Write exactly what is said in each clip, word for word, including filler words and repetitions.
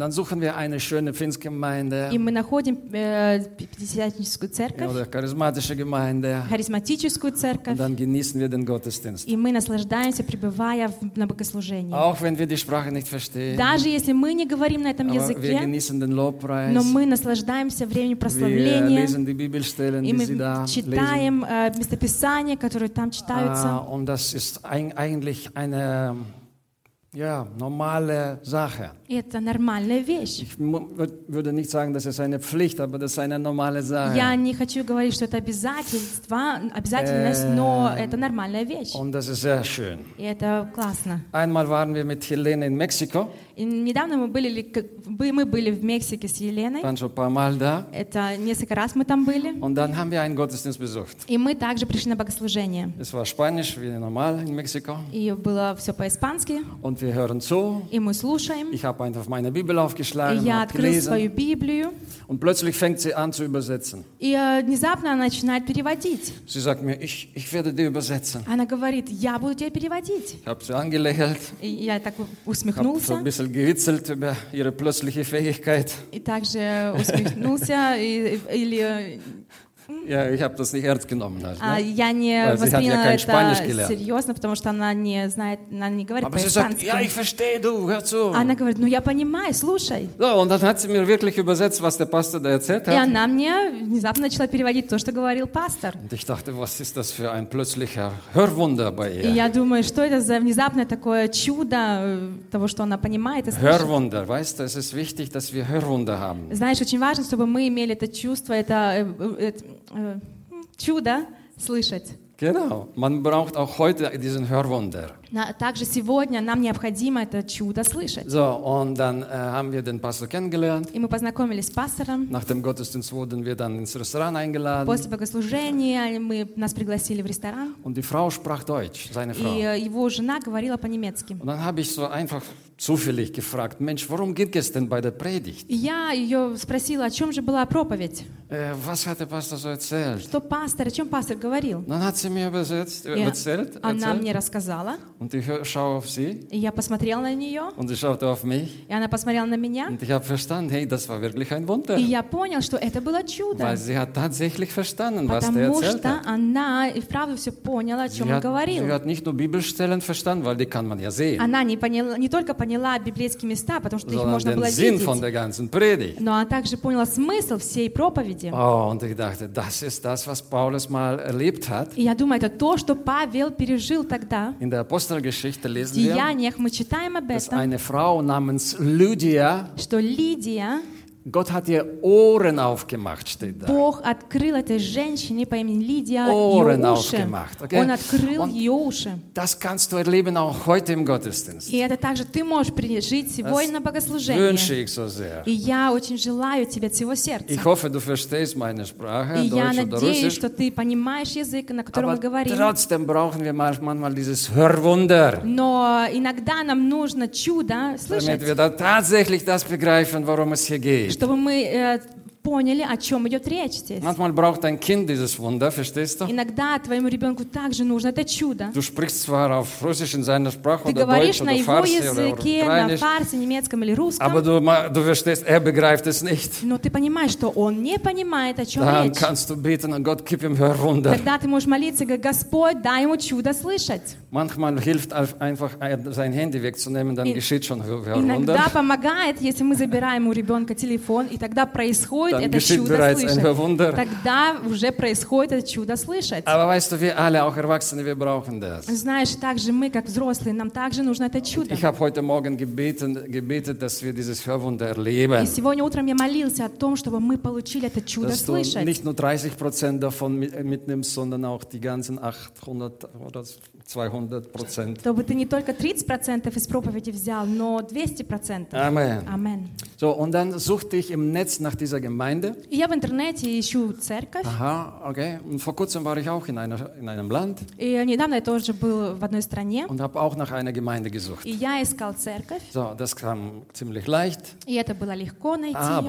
dann suchen wir eine schöne Pfingstgemeinde И мы находим э, пятидесятническую церковь, oder charismatische Gemeinde харизматическую und церковь, dann genießen wir den Gottesdienst. и мы наслаждаемся, пребывая в- на богослужении. Auch wenn wir die Sprache nicht verstehen, Даже если мы не говорим на этом aber wir языке, genießen den Lobpreis. но мы наслаждаемся временем Wir прославления, lesen die Bibelstellen, и die Sie da мы lesen. читаем э, местописания, которые там Ah, читаются. und das ist ein, eigentlich eine ja, normale Sache. И это нормальная вещь. Ich mu- würd- würde nicht sagen, das ist eine Pflicht, aber das ist eine normale Sache. Я не хочу говорить, что это обязательство, обязательность, но это нормальная вещь. Und das ist sehr schön. И это классно. Einmal waren wir mit Helene in Mexiko, И недавно мы были, ли- как- бы- мы были в Мексике с Еленой. waren schon ein paar Mal da. Это несколько раз мы там были. Und dann haben wir einen Gottesdienst besucht. И мы также пришли на богослужение. Es war Spanisch, wie normal in Mexiko. И было все по-испански. Und wir hören zu. И мы слушаем. Ich habe einfach meine Bibel И aufgeschlagen, я habe открыл свою gelesen. Библию. Und plötzlich fängt sie an zu übersetzen. И э, внезапно она начинает переводить. Sie sagt mir, ich, ich werde dir übersetzen. Она говорит, я буду тебя переводить. Ich habe sie angelächelt, И я так habe so усмехнулся. ein bisschen gewitzelt über ihre plötzliche Fähigkeit. И также усмехнулся. И- Или Ja, ich habe das nicht ernst genommen. Halt, а, ne? я не Weil sie hat ja восприняла kein Spanisch это gelernt. серьезно, потому что она не знает, она не говорит Aber sie sagt, по-испански. ja, ich verstehe, du, hör zu. Она говорит, ну я понимаю, слушай. So, und dann hat sie mir wirklich übersetzt, was der Pastor da erzählt И hat. она мне внезапно начала переводить то, что говорил пастор. Und ich dachte, was ist das für ein plötzlicher Hörwunder bei И ihr? я думаю, что это за внезапное такое чудо э, того, что она понимает и слышит. Hörwunder, weißt du, es ist wichtig, dass wir Hörwunder haben. Знаешь, очень важно, чтобы мы имели это чувство, это э, э, э, чудо слышать. Genau, man braucht auch heute diesen Hörwunder. На- Также сегодня нам необходимо это чудо слышать. So, und dann äh, haben wir den Pastor kennengelernt. И мы познакомились с пастором. Nach dem Gottesdienst wurden wir dann ins Restaurant eingeladen. После богослужения мы, нас пригласили в ресторан. Und die Frau sprach Deutsch, seine Frau. И э, его жена говорила по-немецки. Und dann habe ich so einfach zufällig gefragt, Mensch, worum geht es denn bei der Predigt? И я ее спросила, о чем же была проповедь? Äh, was hat der Pastor so erzählt? Что пастор, о чем пастор говорил? Dann hat sie mir übersetzt, äh, И erzählt, она erzählt. мне рассказала, Und ich hör- schaue auf sie и я посмотрела на нее, und sie schaute auf mich. и она посмотрела на меня, Und ich habe verstanden, hey, das war wirklich ein Wunder. и я понял, что это было чудо. Weil sie hat tatsächlich verstanden, was der Потому erzählt что hat. она и вправду все поняла, о Sie чем он hat, sie говорил. hat nicht nur Bibelstellen verstanden, weil die kann man ja sehen, Она не, поняла, не только поняла библейские места, потому что их sondern можно den было Sinn видеть, von der ganzen Predigt. но она также поняла смысл всей проповеди. Oh, und ich dachte, das ist das, was Paulus mal erlebt hat. И я думаю, это то, что Павел пережил тогда. In der Apostelgeschichte В lesen wir, Деяниях мы читаем об dass этом, eine Frau namens Lydia, что Лидия, Gott hat ihr Ohren aufgemacht, steht da. Бог открыл этой женщине по имени Лидия Ohren ее уши. aufgemacht, okay? Он открыл Und ее уши. Das kannst du erleben auch heute im Gottesdienst. И это также ты можешь пережить сегодня на Wünsche богослужении. ich so sehr. И я очень желаю тебе от всего сердца. Ich hoffe, du verstehst meine Sprache, И я Deutsch oder надеюсь, Russisch. что ты понимаешь язык, на котором Aber мы говорим. trotzdem brauchen wir manchmal dieses Hörwunder, Но иногда нам нужно чудо слышать, damit wir da tatsächlich das begreifen, worum es hier geht. чтобы мы э, поняли, о чем идет речь здесь. Manchmal braucht ein Kind dieses Wunder, verstehst du? Иногда твоему ребенку также нужно это чудо. Du sprichst zwar auf Russisch in seiner Sprache Ты oder Deutsch говоришь на oder его Farsi oder языке, на Ukrainisch, фарсе, немецком или aber русском, du, ma- du verstehst, er begreift es nicht. но ты понимаешь, что он не понимает, о чем Dann речь. kannst du beten und Gott gib ihm Hörwunder. Тогда ты можешь молиться и говорить: Господь, дай ему чудо слышать. Manchmal hilft auf- einfach ein- sein Handy wegzunehmen, dann И- geschieht schon Hörwunder. Иногда помогает, если мы забираем у ребенка телефон, и тогда происходит Dann это geschieht чудо bereits ein слышать. Hörwunder. Тогда уже происходит это чудо слышать. Aber weißt du, wir alle, auch Erwachsene, wir brauchen das. Знаешь, также мы, как взрослые, нам также нужно это чудо. Ich habe heute Morgen gebeten, gebetet, dass wir dieses Hörwunder И erleben. сегодня утром я молился о том, чтобы мы получили это чудо Dass du слышать. nicht nur dreißig Prozent davon mit- mitnimmst, sondern auch die ganzen achthundert oder zweihundert Prozent. Чтобы ты не только тридцать процентов из проповеди взял, но двести процентов. Amen. Амен. So, und dann suchte ich im Netz nach dieser Gemeinde. И я в интернете ищу церковь. Aha, okay. Und vor kurzem war ich auch in, einer, in einem Land И недавно я тоже был в одной стране. und habe auch nach einer Gemeinde gesucht. И я искал церковь. So, das kam ziemlich leicht. И это было легко найти Aber ее.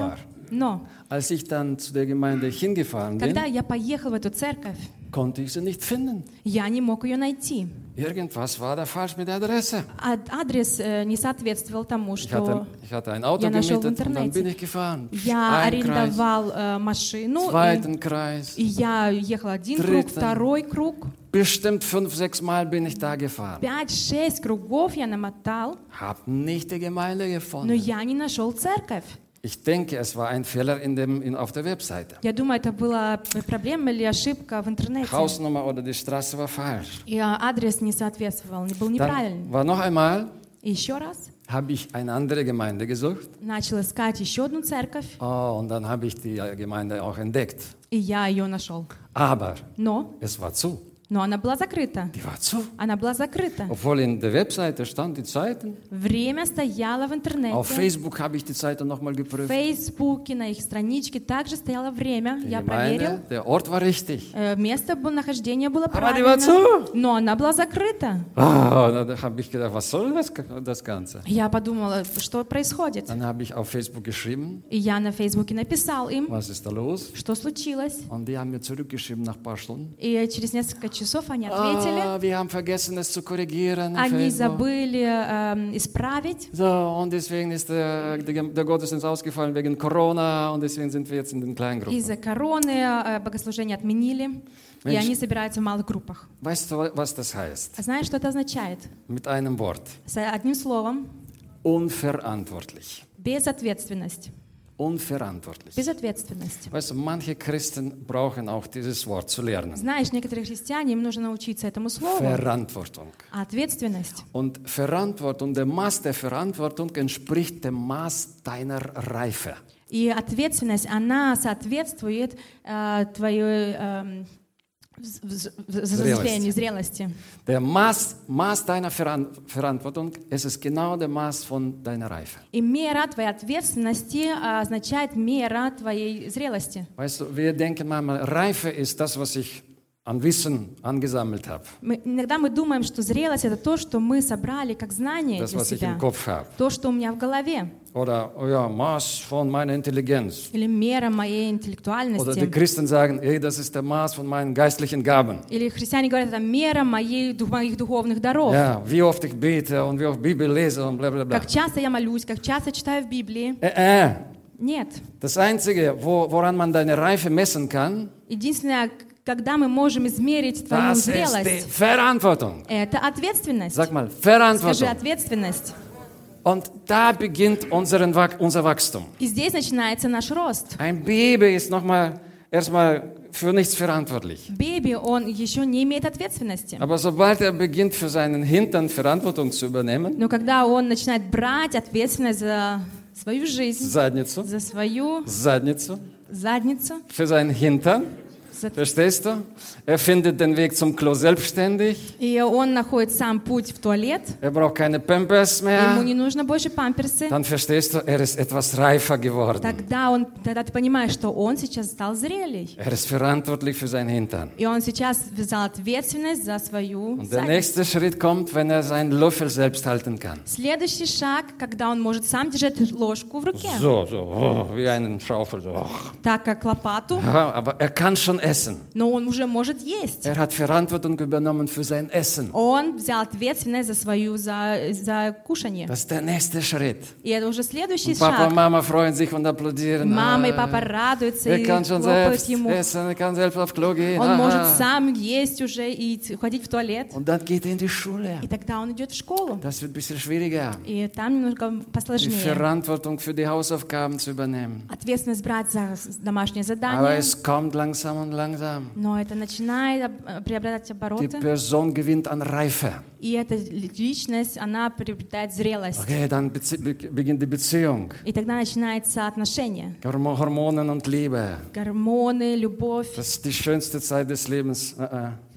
Но als ich dann zu der Gemeinde hingefahren bin, когда я поехал в эту церковь, konnte ich sie nicht finden. я не мог ее найти. Irgendwas war da falsch mit der Adresse. А- Адрес э, не соответствовал тому, Ich hatte, что ich hatte ein Auto я нашел в gemietet und dann bin интернете. ich gefahren. Я Ein Kreis, арендовал э, машину, и, zweiten Kreis. и я ехала один круг, Dritter. второй круг. Bestimmt fünf, sechs Mal bin ich da gefahren. Пять-шесть кругов я намотал, Hab nicht die Gemeinde но gefunden. я не нашел церковь. Ich denke, es war ein Fehler in dem, in, auf der Webseite. Я думаю, это была проблема или ошибка в интернете. Hausnummer oder die Straße war falsch. И а, адрес не соответствовал, не был неправильный. Dann war noch einmal, И еще раз habe ich eine andere Gemeinde gesucht. начал искать еще одну церковь, Oh, und dann habe ich die Gemeinde auch entdeckt. и я ее нашел. Aber Но, es war zu. но она была закрыта. Die war zu. Она была закрыта. Obwohl in der Webseite stand die Zeiten. Время стояло в интернете. Auf Facebook habe ich die Zeiten nochmal В geprüft. Фейсбуке, на их страничке также стояло время. Die Я проверил. Gemeinde, der Ort war richtig. Э, Место было- нахождения было Aber die war правильно. zu. Но она была закрыта. Ah, da habe ich gedacht, was soll das, das Ganze? Я подумала, что происходит. Dann habe ich auf Facebook geschrieben, И я на Фейсбуке написал им, was ist da los? что случилось. Und die haben mir zurückgeschrieben nach ein paar Stunden. И через несколько часов они ответили. Ah, wir haben vergessen, es zu korrigieren. in Они Facebook. забыли эм, исправить. So, und deswegen ist der, der, der Gottesdienst ausgefallen wegen Corona und deswegen sind wir jetzt in den Kleingruppen. Из-за короны э, богослужение отменили. И Mensch. они собираются в малых группах. Weißt du, was das heißt? А знаешь, что это означает? Mit einem Wort. С одним словом. Unverantwortlich. Безответственность. Unverantwortlich. Безответственность. Weißt du, manche Christen brauchen auch dieses Wort zu lernen. Знаешь, некоторые христиане, им нужно научиться этому слову. Verantwortung. А ответственность. Und Verantwortung, der Maß der Verantwortung entspricht dem Maß deiner Reife. И ответственность, она соответствует э, твоей э, вз- вз- взрослению, зрелости. Der Maß, Maß deiner Veran Verantwortung, es ist genau der Maß von deiner Reife. И мера твоей ответственности э, означает мера твоей зрелости. Weißt du, wir denken manchmal, Reife ist das, was ich an Wissen angesammelt habe. Мы, иногда мы думаем, что зрелость — это то, что мы собрали как знание Das, для was ich себя. im Kopf habe. То, что у меня в голове. Oder, oh ja, Maß von meiner Intelligenz. Или мера моей Oder die интеллектуальности. Christen sagen, hey, das ist der Maß von meinen geistlichen Gaben. Или христиане говорят, это мера моей, дух- моих духовных даров. Ja, wie oft ich bete und wie oft Bibel lese und bla bla bla. Как часто я молюсь, как часто читаю в Библии. Äh, äh. Нет. Das Einzige, wo, woran man deine Reife messen kann, Единственное, когда мы можем измерить твою das ist die зрелость, Verantwortung. это ответственность. Sag mal, Скажи, Verantwortung. ответственность. Und da beginnt unseren, Wach- unser Wachstum. И здесь начинается наш рост. Ein Baby ist nochmal erstmal für nichts verantwortlich. Baby, он еще не имеет ответственности. Aber sobald er beginnt, für seinen Hintern Verantwortung zu übernehmen, Но когда он начинает брать ответственность за свою жизнь, Задницу, за свою Задницу, задницу, für seinen Hintern, за- verstehst du? Er findet den Weg zum Klo selbstständig. и он находит сам путь в туалет, Er braucht keine Pampers ему mehr. не нужно больше памперсы, Dann verstehst du, er ist etwas reifer geworden. тогда, он, тогда ты понимаешь, что он сейчас стал зрелей. Er ist verantwortlich für seinen Hintern. И он сейчас взял ответственность за свою Und der задницу. nächste Schritt kommt, wenn er seinen Löffel selbst halten kann. Следующий шаг, когда он может сам держать ложку в руке, So, so, oh, wie einen Schaufel. So. oh. так как лопату, Ja, aber er kann schon essen. но он уже может есть. Er hat Verantwortung übernommen für sein Essen. Он взял ответственность за свою, за, за кушание. Das ist der nächste Schritt. И это уже следующий Und Papa und шаг. Mama freuen sich und applaudieren. Мама и Ah, папа радуются er и kann schon хлопают selbst ему. essen, er kann selbst auf Klo gehen. Он может Aha. сам есть уже и т- ходить в туалет. Und dann geht er in die Schule. И тогда он идет в школу. Das wird ein bisschen schwieriger. И там немножко Die посложнее. Verantwortung für die Hausaufgaben zu übernehmen. Ответственность брать за с- домашнее Aber задание. es kommt langsam und langsam. Но это начинает об- приобретать Die обороты. Person gewinnt an Reife. И эта личность, она приобретает зрелость. Okay, dann bezie- be- beginnt die Beziehung. И тогда начинается отношение. Hormo- Hormonen und Liebe. Гормоны, любовь. Das ist die schönste Zeit des Lebens. Äh, äh.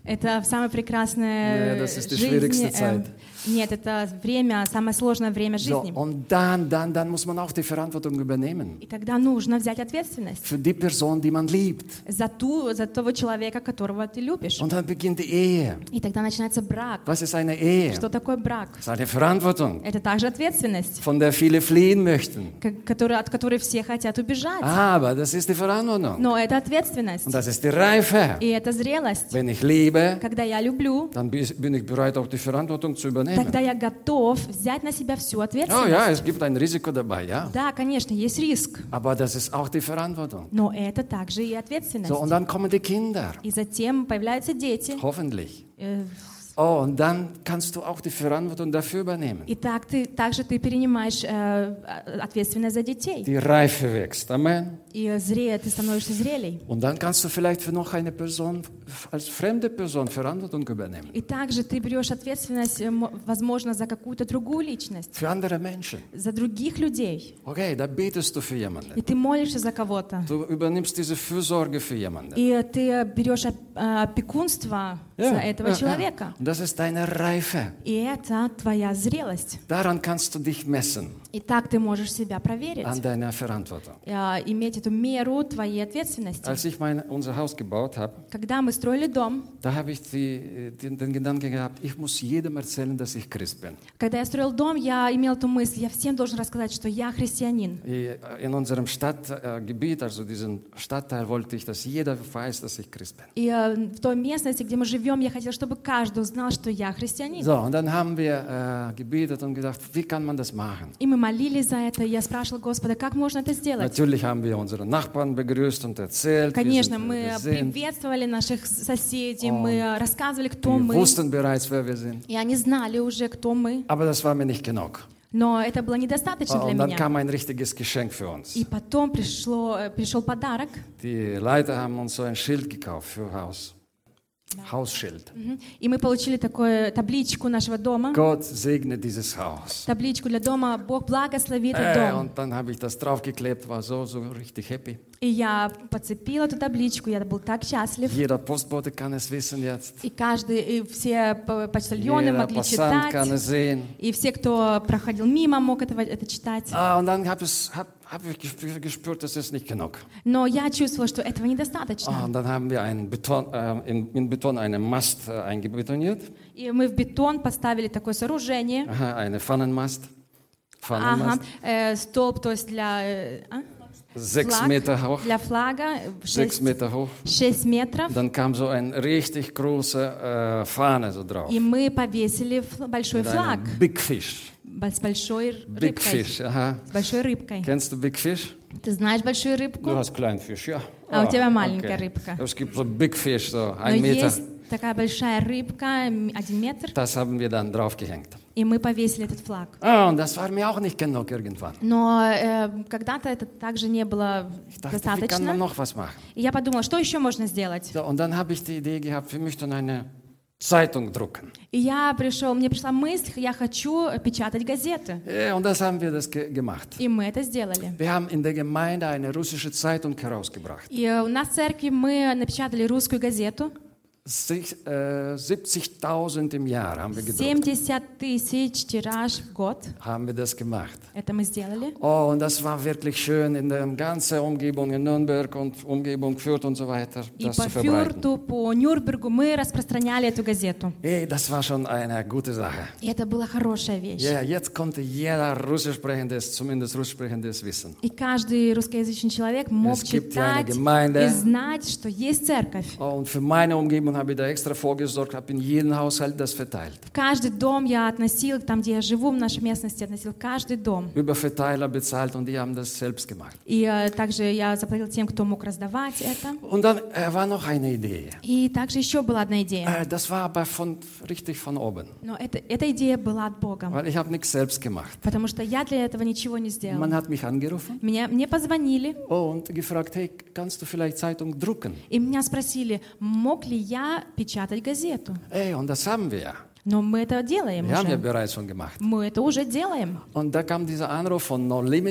Это самая прекрасная Nee, das ist die жизнь. schwierigste э, Zeit. Нет, это время, самое сложное время So, жизни. und dann, dann, dann muss man auch die Verantwortung übernehmen. И тогда нужно взять ответственность Für die Person, die man liebt. за, ту, за того человека, которого ты любишь. Und dann beginnt die Ehe. И тогда начинается брак. Was ist eine Ehe? Что такое брак? Das ist eine Verantwortung, Это также ответственность, von der viele fliehen möchten. к- которой- от которой все хотят убежать. Aber das ist die Verantwortung. Но это ответственность. Und das ist die Reife. И это зрелость. Wenn ich liebe, Когда я люблю, dann bin ich bereit, auch die Verantwortung zu übernehmen. тогда я готов взять на себя всю Oh ответственность. ja, es gibt ein Risiko dabei, ja. Да, конечно, есть риск, Aber das ist auch die Verantwortung. но это также и ответственность. So, und dann kommen die Kinder. И затем появляются дети. Hoffentlich. Э, Oh, und dann kannst du auch die Verantwortung dafür übernehmen. И так ты, также ты перенимаешь э, ответственность за детей. Die Reife wächst. Amen. И зрее, ты становишься зрелей. Und dann kannst du vielleicht für noch eine Person, als fremde Person Verantwortung übernehmen. И также ты берешь ответственность, э, мо- возможно, за какую-то другую личность, Für andere Menschen. за других людей. Okay, da betest du für jemanden. И ты молишься за кого-то. Du übernimmst diese Fürsorge für jemanden. И ты берешь оп- э, опекунство за этого ja, человека. ja. Und das ist deine Reife. И это твоя зрелость. Daran kannst du dich messen, И так ты можешь себя проверить, an deiner Verantwortung. э, иметь эту меру твоей ответственности. Als ich mein, unser Haus gebaut habe, Когда мы строили дом, da habe ich die, den, den Gedanken gehabt, ich muss jedem erzählen, dass ich Christ bin. когда я строил дом, я имел эту мысль, я всем должен рассказать, что я христианин. In unserem Stadtgebiet, also diesem Stadtteil, wollte ich, dass jeder weiß, dass ich Christ bin. И э, в той местности, где мы живем, я хотел, чтобы каждый узнал, что я христианин. So, und dann haben wir äh, gebetet und gedacht, wie kann man das machen? И мы молились за это, и я спрашивала Господа, как можно это сделать? Natürlich haben wir unsere Nachbarn begrüßt und erzählt, Конечно, wie мы wir sind. приветствовали наших соседей, О, мы рассказывали, кто Wir мы. wussten bereits, wer wir sind. И они знали уже, кто мы. Aber das war mir nicht genug. Но это было недостаточно для Und dann меня. kam ein richtiges Geschenk für uns. И потом пришло, э, пришел подарок. Die Leiter haben uns so ein Schild gekauft für Haus. Hausschild. Мгм. И мы получили такую табличку нашего дома. Gott segne dieses Haus. Табличку для дома. Бог благослови этот Äh, дом. und dann habe ich das draufgeklebt, war so, so richtig happy. И я подцепила эту табличку, я был так счастлив. Jeder Postbote kann es wissen jetzt. И каждый, и все по- почтальоны Jeder могли Passant kann читать. es sehen. И все, кто проходил мимо, мог этого, это читать. Ah, und dann habe hab, hab ich gespür- gespürt, das ist nicht genug. Но я чувствовала, что этого Ah, недостаточно. und dann haben wir einen Beton, äh, in, in Beton einen Mast äh, eingebetoniert. И мы в бетон поставили такое сооружение. Aha, eine Pfannenmast. Ага, Pfannenmast. э, столб, то есть для, э, а? Sechs Флаг, Meter hoch. для флага, Sechs шесть, Meter hoch. шесть метров. Dann kam so eine richtig große äh, Fahne so drauf. И мы повесили фл- большой Mit флаг einem Big Fish. с большой Big рыбкой. Fish, aha. С большой рыбкой. Kennst du Big Fish? Ты знаешь большую Du рыбку? hast Kleinfisch, ja. А у Ah, тебя маленькая okay. рыбка. Es gibt so Big Fish, so Но ein Meter. есть такая большая рыбка, м, один метр, Das haben wir dann draufgehängt. и мы повесили этот флаг. Ah, und das war mir auch nicht genug irgendwann. Но э, когда-то это также не было Ich dachte, wie kann man достаточно. noch was machen? И я подумала, что еще можно сделать? So, und dann habe ich die Idee gehabt, wir möchten eine Zeitung drucken. И я пришел, мне пришла мысль, я хочу печатать газеты. Ja, und das haben wir das ge gemacht. И мы это сделали. Wir haben in der Gemeinde eine russische Zeitung herausgebracht. И у нас в церкви мы напечатали русскую газету. Sich, äh, siebzigtausend im Jahr haben wir gedruckt. семьдесят тысяч тираж в год. Haben wir das gemacht. Это мы сделали. Oh, und das war wirklich schön in der ganzen Umgebung in Nürnberg und Umgebung Fürth und so weiter, И das по zu verbreiten. Фюрту, по Нюрнбергу мы распространяли эту газету. Hey, das war schon eine gute Sache. И это была хорошая вещь. Ja, jetzt konnte jeder Russischsprechendes, zumindest Russischsprechendes wissen. И каждый русскоязычный человек мог Es gibt ja eine читать Gemeinde. и знать, что есть церковь. Oh, und für meine Umgebung habe ich da extra vorgesorgt, habe in jedem Haushalt das verteilt. В каждый дом я относил, там, где я живу, в нашей местности, относил каждый дом. Über Verteiler bezahlt und die haben das selbst gemacht. И э, также я заплатил тем, кто мог раздавать это. Und dann äh, war noch eine Idee. И также еще была одна идея. Äh, das war aber von, richtig von oben, Но это, эта идея была от Бога. weil ich habe nichts selbst gemacht. Потому что я для этого ничего не сделала. Man hat mich angerufen Меня, мне позвонили, oh, und gefragt, hey, kannst du vielleicht Zeitung drucken? и меня спросили, мог ли я печатать газету. Hey, und das haben wir ja. Но мы это делаем Wir haben ja уже. bereits schon gemacht. Мы это уже делаем. Und da kam dieser Anruf von No Limit.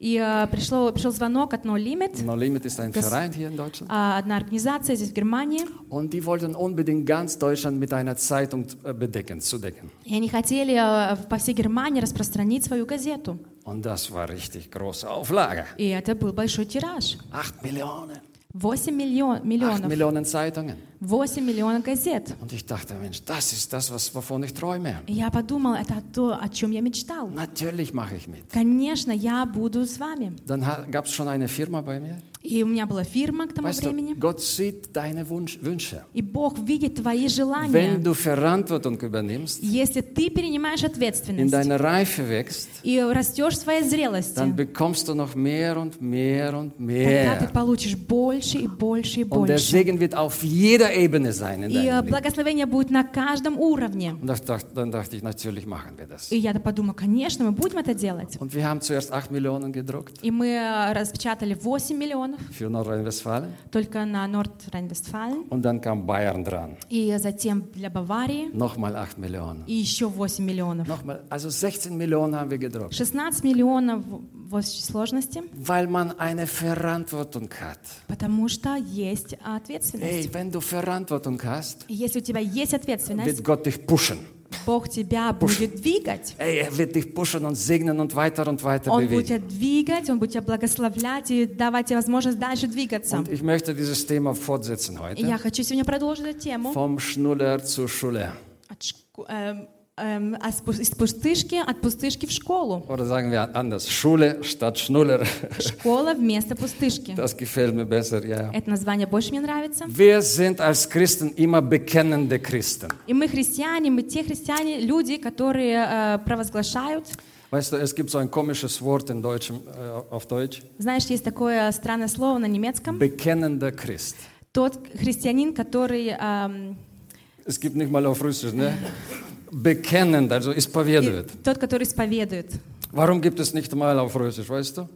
И э, пришло, пришел звонок от No Limit, No Limit ist ein Das- Verein hier in Deutschland. э, одна организация здесь в Германии. Und die wollten unbedingt ganz Deutschland mit einer Zeitung äh, bedecken, zu decken. И они хотели э, по всей Германии распространить свою газету. Und das war richtig große Auflage. И это был большой тираж. Acht Millionen. восемь миллион, Acht миллионов. Millionen Zeitungen. восемь миллионов газет. Und ich dachte, Mensch, das ist das, was, wovon ich träume. И я подумала, это то, о чем я мечтал. Natürlich mache ich mit. Конечно, я буду с вами. Dann gab es schon eine Firma bei mir. И у меня была фирма к тому Weißt du, времени. Gott sieht deine Wunsch, Wünsche. И Бог видит твои Wenn желания. du Verantwortung übernimmst, Если ты принимаешь in ответственность deiner Reife wächst, и растешь в своей зрелости, dann bekommst du noch mehr und mehr und тогда ты mehr. получишь больше и больше и Und der больше. Segen wird auf jeder Ebene sein in И э, deinem Leben. благословение будет на каждом уровне. Und das dacht- dann dachte ich, natürlich machen wir das. И я подумала, конечно, мы будем это делать. Und wir haben zuerst acht Millionen gedruckt И мы э, распечатали восемь миллионов für Nordrhein-Westfalen. только на Норд-Райн-Вестфален. Und dann kam Bayern dran. И затем для Баварии. Nochmal acht Millionen. И еще восемь миллионов. Nochmal, also sechzehn Millionen haben wir gedruckt. шестнадцать миллионов в общей сложности, Weil man eine Verantwortung hat. потому что есть Hey, ответственность. wenn du Verantwortung hast, И если у тебя есть ответственность, wird Gott dich pushen. Бог тебя будет двигать. Hey, er wird dich pushen und segnen und weiter und weiter Он будет bewegen. тебя двигать, Он будет тебя благословлять и давать тебе возможность дальше двигаться. Und ich möchte dieses Thema fortsetzen И я heute. хочу сегодня продолжить эту тему. Vom Schnuller zur Schule. От шко- эм, эм, от спу- из пустышки, от пустышки в школу. Oder sagen wir anders, Schule statt Schnuller. Школа вместо пустышки. Das gefällt mir besser, ja. Это название больше мне нравится. Wir sind als Christen immer bekennende Christen. И мы христиане, мы те христиане, люди, которые э, провозглашают. Weißt du, es gibt so ein komisches Wort in Deutsch, äh, auf Deutsch. Знаешь, есть такое странное слово на немецком. Bekennender Christ. Тот христианин, который эм, Es gibt nicht mal auf Russisch, ne? Bekennend, also исповедует. и тот, который исповедует. Warum gibt es nicht mal auf Russisch, weißt du?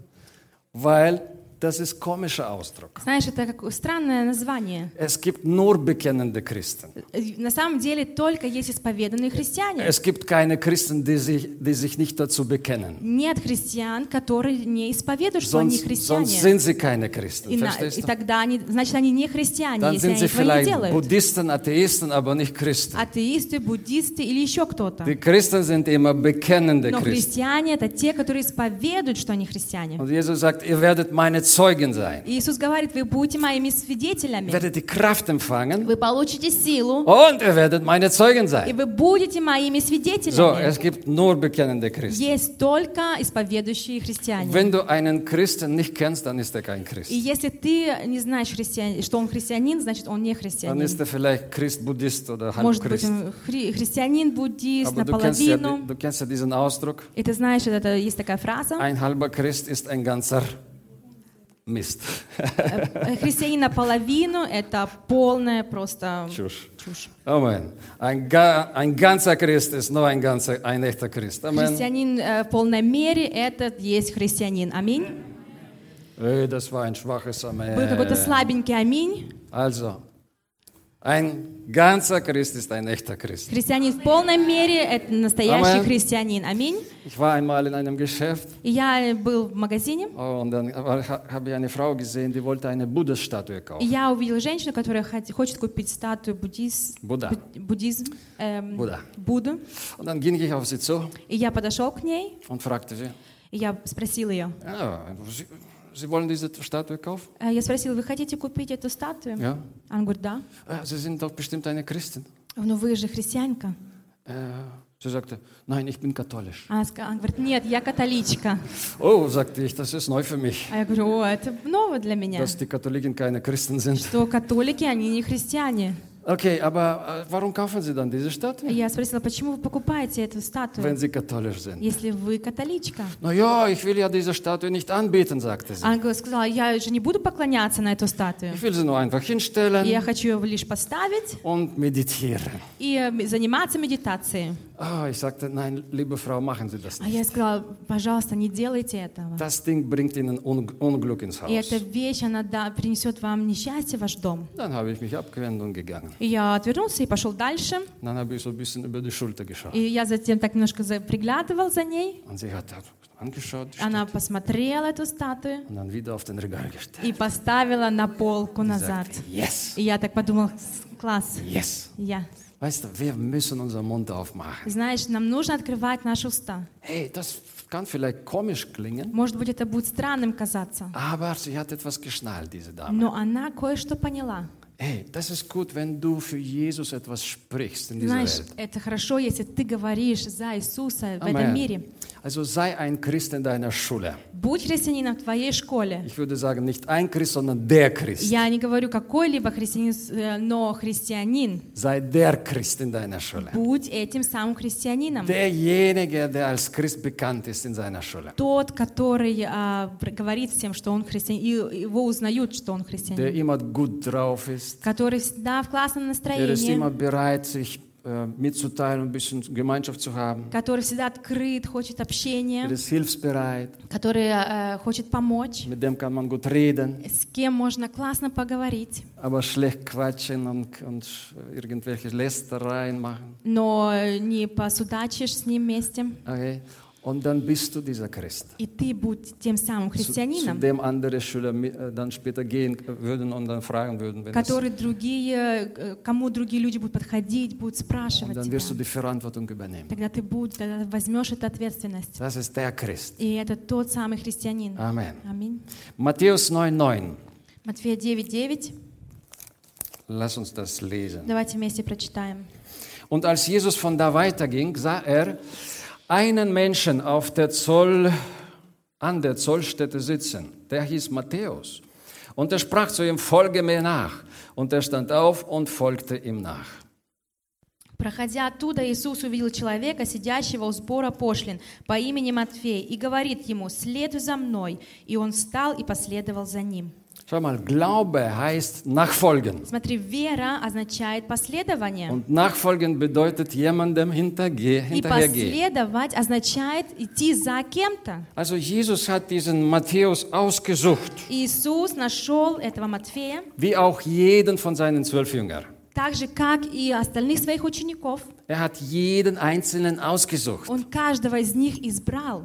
Weil das ist komischer Ausdruck. Знаешь, это как странное название. Es gibt nur bekennende Christen. Э, На самом деле только есть исповеданные христиане. Es gibt keine Christen, die sich, die sich nicht dazu bekennen. Нет христиан, которые не исповедуют, что они Sonst, христиане. sonst sind sie keine Christen, И, на- verstehst и du? тогда они, значит, они не христиане, Dann если sind они sie этого не vielleicht делают. Buddhisten, Atheisten, aber nicht Christen. Атеисты, буддисты или еще кто-то. Die Christen sind immer bekennende Но Christen. христиане — это те, которые исповедуют, что они христиане. Und Jesus sagt, ihr werdet meine Zeugen sein. И Иисус говорит, вы будете моими Ihr свидетелями. werdet die Kraft empfangen Вы получите силу, und ihr werdet meine Zeugen и sein. вы будете моими So, свидетелями. es gibt nur bekennende Christen. Есть только исповедующие христиане. Wenn du einen Christen nicht kennst, dann ist er kein Christ. И если ты не знаешь, христиан- что он христианин, значит, он не Dann христианин. ist er vielleicht Christ, Buddhist oder Может быть, Halbchrist. он хри- христианин, буддист, Aber du kennst, ja, наполовину. du kennst ja diesen Ausdruck. И ты знаешь, это есть такая фраза. Ein halber Christ ist ein ganzer Mist. Э, Христианин наполовину — это полная просто Tschüss. чушь. Amen. Ein, ga, ein ganzer Christ ist nur ein, ganzer, ein echter Christ. Amen. Христианин э, в полной мере — это есть христианин. Аминь. Ey, das war ein schwaches Был какой-то Amen. слабенький аминь. Also, ein ganzer Christ ist ein echter Christ. Христианин в полной мере — это настоящий Amen. христианин. Аминь. Ich war einmal in einem Geschäft И я был в магазине, oh, und dann war- habe ich eine Frau gesehen, die wollte eine Buddha-Statue и kaufen. я увидела женщину, которая хот- хочет купить статую буддиз... Будда. буд- буддизм, эм, Будда. Будду. Und dann ging ich auf sie zu И я подошел к ней, und fragte sie, и я спросил ее. ja, sie, sie wollen diese Statue kaufen? Э, Я спросила, вы хотите купить эту статую? Ja. Она говорит, да. "Ah, Sie sind doch bestimmt eine Christin. Ну вы же христианка. Äh, sie sagte, nein, ich bin katholisch. Она, ска- она говорит, нет, я католичка. Oh, sagte ich, das ist neu für mich, А я говорю, о, это ново для меня. dass die Katholiken keine Christen sind. Что католики, они не христиане. Okay, aber äh, warum kaufen Sie dann diese Statue, И я спросила, почему вы покупаете эту wenn статую, Sie katholisch sind? если вы католичка? Na ja, ich will ja diese Statue nicht anbeten, sagte sie. Она говорит- сказала, я же не буду поклоняться на эту статую. Ich will sie nur einfach И hinstellen я хочу ее лишь поставить und meditieren. и э, заниматься медитацией. Ah, ich sagte, nein, liebe Frau, machen Sie das А nicht. я сказала, пожалуйста, не делайте этого. Das Ding bringt Ihnen Un Unglück ins И эта Haus. вещь, она да, принесет вам несчастье в ваш дом. Dann habe ich mich abgewendet und gegangen. И я отвернулся и пошел дальше. Dann habe ich so ein bisschen über die Schulter geschaut. И я затем так немножко за- приглядывал за ней. Und sie hat angeschaut die Она Statue, посмотрела эту статую und dann wieder auf den Regal gestellt. и поставила на полку Und назад. sagte, yes, И я так подумала, класс, yes. я. Weißt du, wir müssen unseren Mund aufmachen. Знаешь, нам нужно открывать наши уста. Hey, das kann vielleicht komisch klingen, Может быть, это будет странным казаться, aber sie hat etwas geschnallt, diese Dame. но она кое-что поняла. Hey, das ist gut, wenn du für Jesus etwas sprichst in dieser Знаешь, Welt. это хорошо, если ты говоришь за Иисуса в Amen. этом мире. Also sei ein Christ in deiner Schule. Будь христианином в твоей школе. Ich würde sagen, nicht ein Christ, sondern der Christ. Я не говорю какой-либо христианин, э, но христианин. Sei der Christ in deiner Schule. Будь этим самым христианином. Derjenige, der als Christ bekannt ist in seiner Schule. Тот, который а, говорит всем, что он христианин, и его узнают, что он Der христианин. immer gut drauf ist. Который всегда в классном Der ist immer настроении. bereit, sich äh, mitzuteilen, ein bisschen Gemeinschaft zu haben. Который всегда открыт, хочет Der общения. ist hilfsbereit. Который э, хочет помочь. Mit dem kann man gut reden. С кем можно классно поговорить. Aber schlecht quatschen und, und irgendwelche Lästereien machen. Но не посудачишь с ним вместе. Okay? Und dann bist du dieser Christ. И ты будь тем самым Zu, zu христианином, dem andere Schüler äh, dann später gehen würden und dann fragen würden, wenn es, который другие, э, кому другие люди будут подходить, будут und спрашивать dann wirst du тебя. die Verantwortung übernehmen. Тогда ты будешь, тогда возьмешь эту ответственность. Das ist der Christ. И это тот самый христианин. Amen. Аминь. Matthäus neun neun. Матфея девять девять. Lass uns das lesen. Давайте вместе прочитаем. Und als Jesus von da weiterging, sah er einen Menschen auf der Zoll, an der Zollstätte sitzen. Der hieß Matthäus. Und er sprach zu ihm, folge mir nach. Und er stand auf und folgte ihm nach. Проходя оттуда, Иисус увидел человека, сидящего у сбора пошлин, по имени Матфей, и говорит ему: «Следуй за мной». И он встал и последовал за ним. Schau mal, Glaube heißt nachfolgen. Смотри, вера означает последование. Und nachfolgen bedeutet jemandem hinterge- И hinterhergehen. последовать означает идти за кем-то. Also Jesus hat diesen Matthäus ausgesucht, Иисус нашел этого Матфея, wie auch jeden von seinen zwölf Jüngern. так же, как и остальных своих учеников. Er hat jeden Einzelnen ausgesucht. Он каждого из них избрал.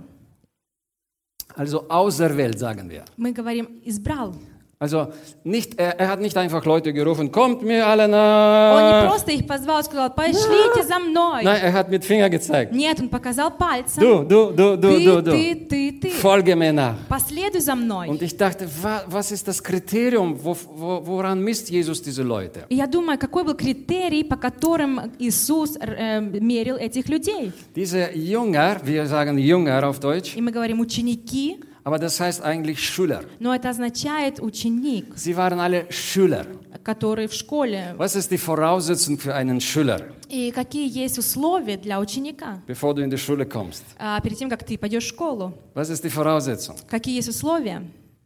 Also auserwählt, sagen wir. Мы говорим «избрал». Also nicht, er, er hat nicht einfach Leute gerufen, kommt mir alle Он не nach. просто их позвал и сказал: «Пошлите за мной». Nein, er hat mit Finger gezeigt. Нет, он показал пальцем. Du, du, du, du, Ты, du, du. ты, ты, ты. Folge mir nach. Последуй за мной. Und ich dachte, wa, was ist das Kriterium? Wo, wo, woran misst Jesus diese Leute? И я думаю, какой был критерий, по которым Иисус э, мерил этих людей. Diese Jünger, wir sagen Jünger auf Deutsch, И мы говорим «ученики», aber das heißt eigentlich Schüler. но это означает «ученик», Sie waren alle Schüler. который в школе. Was ist die Voraussetzung für einen Schüler, И какие есть условия для ученика? bevor du in die Schule kommst? А, перед тем, как ты пойдешь в школу, Was ist die Voraussetzung? какие есть условия?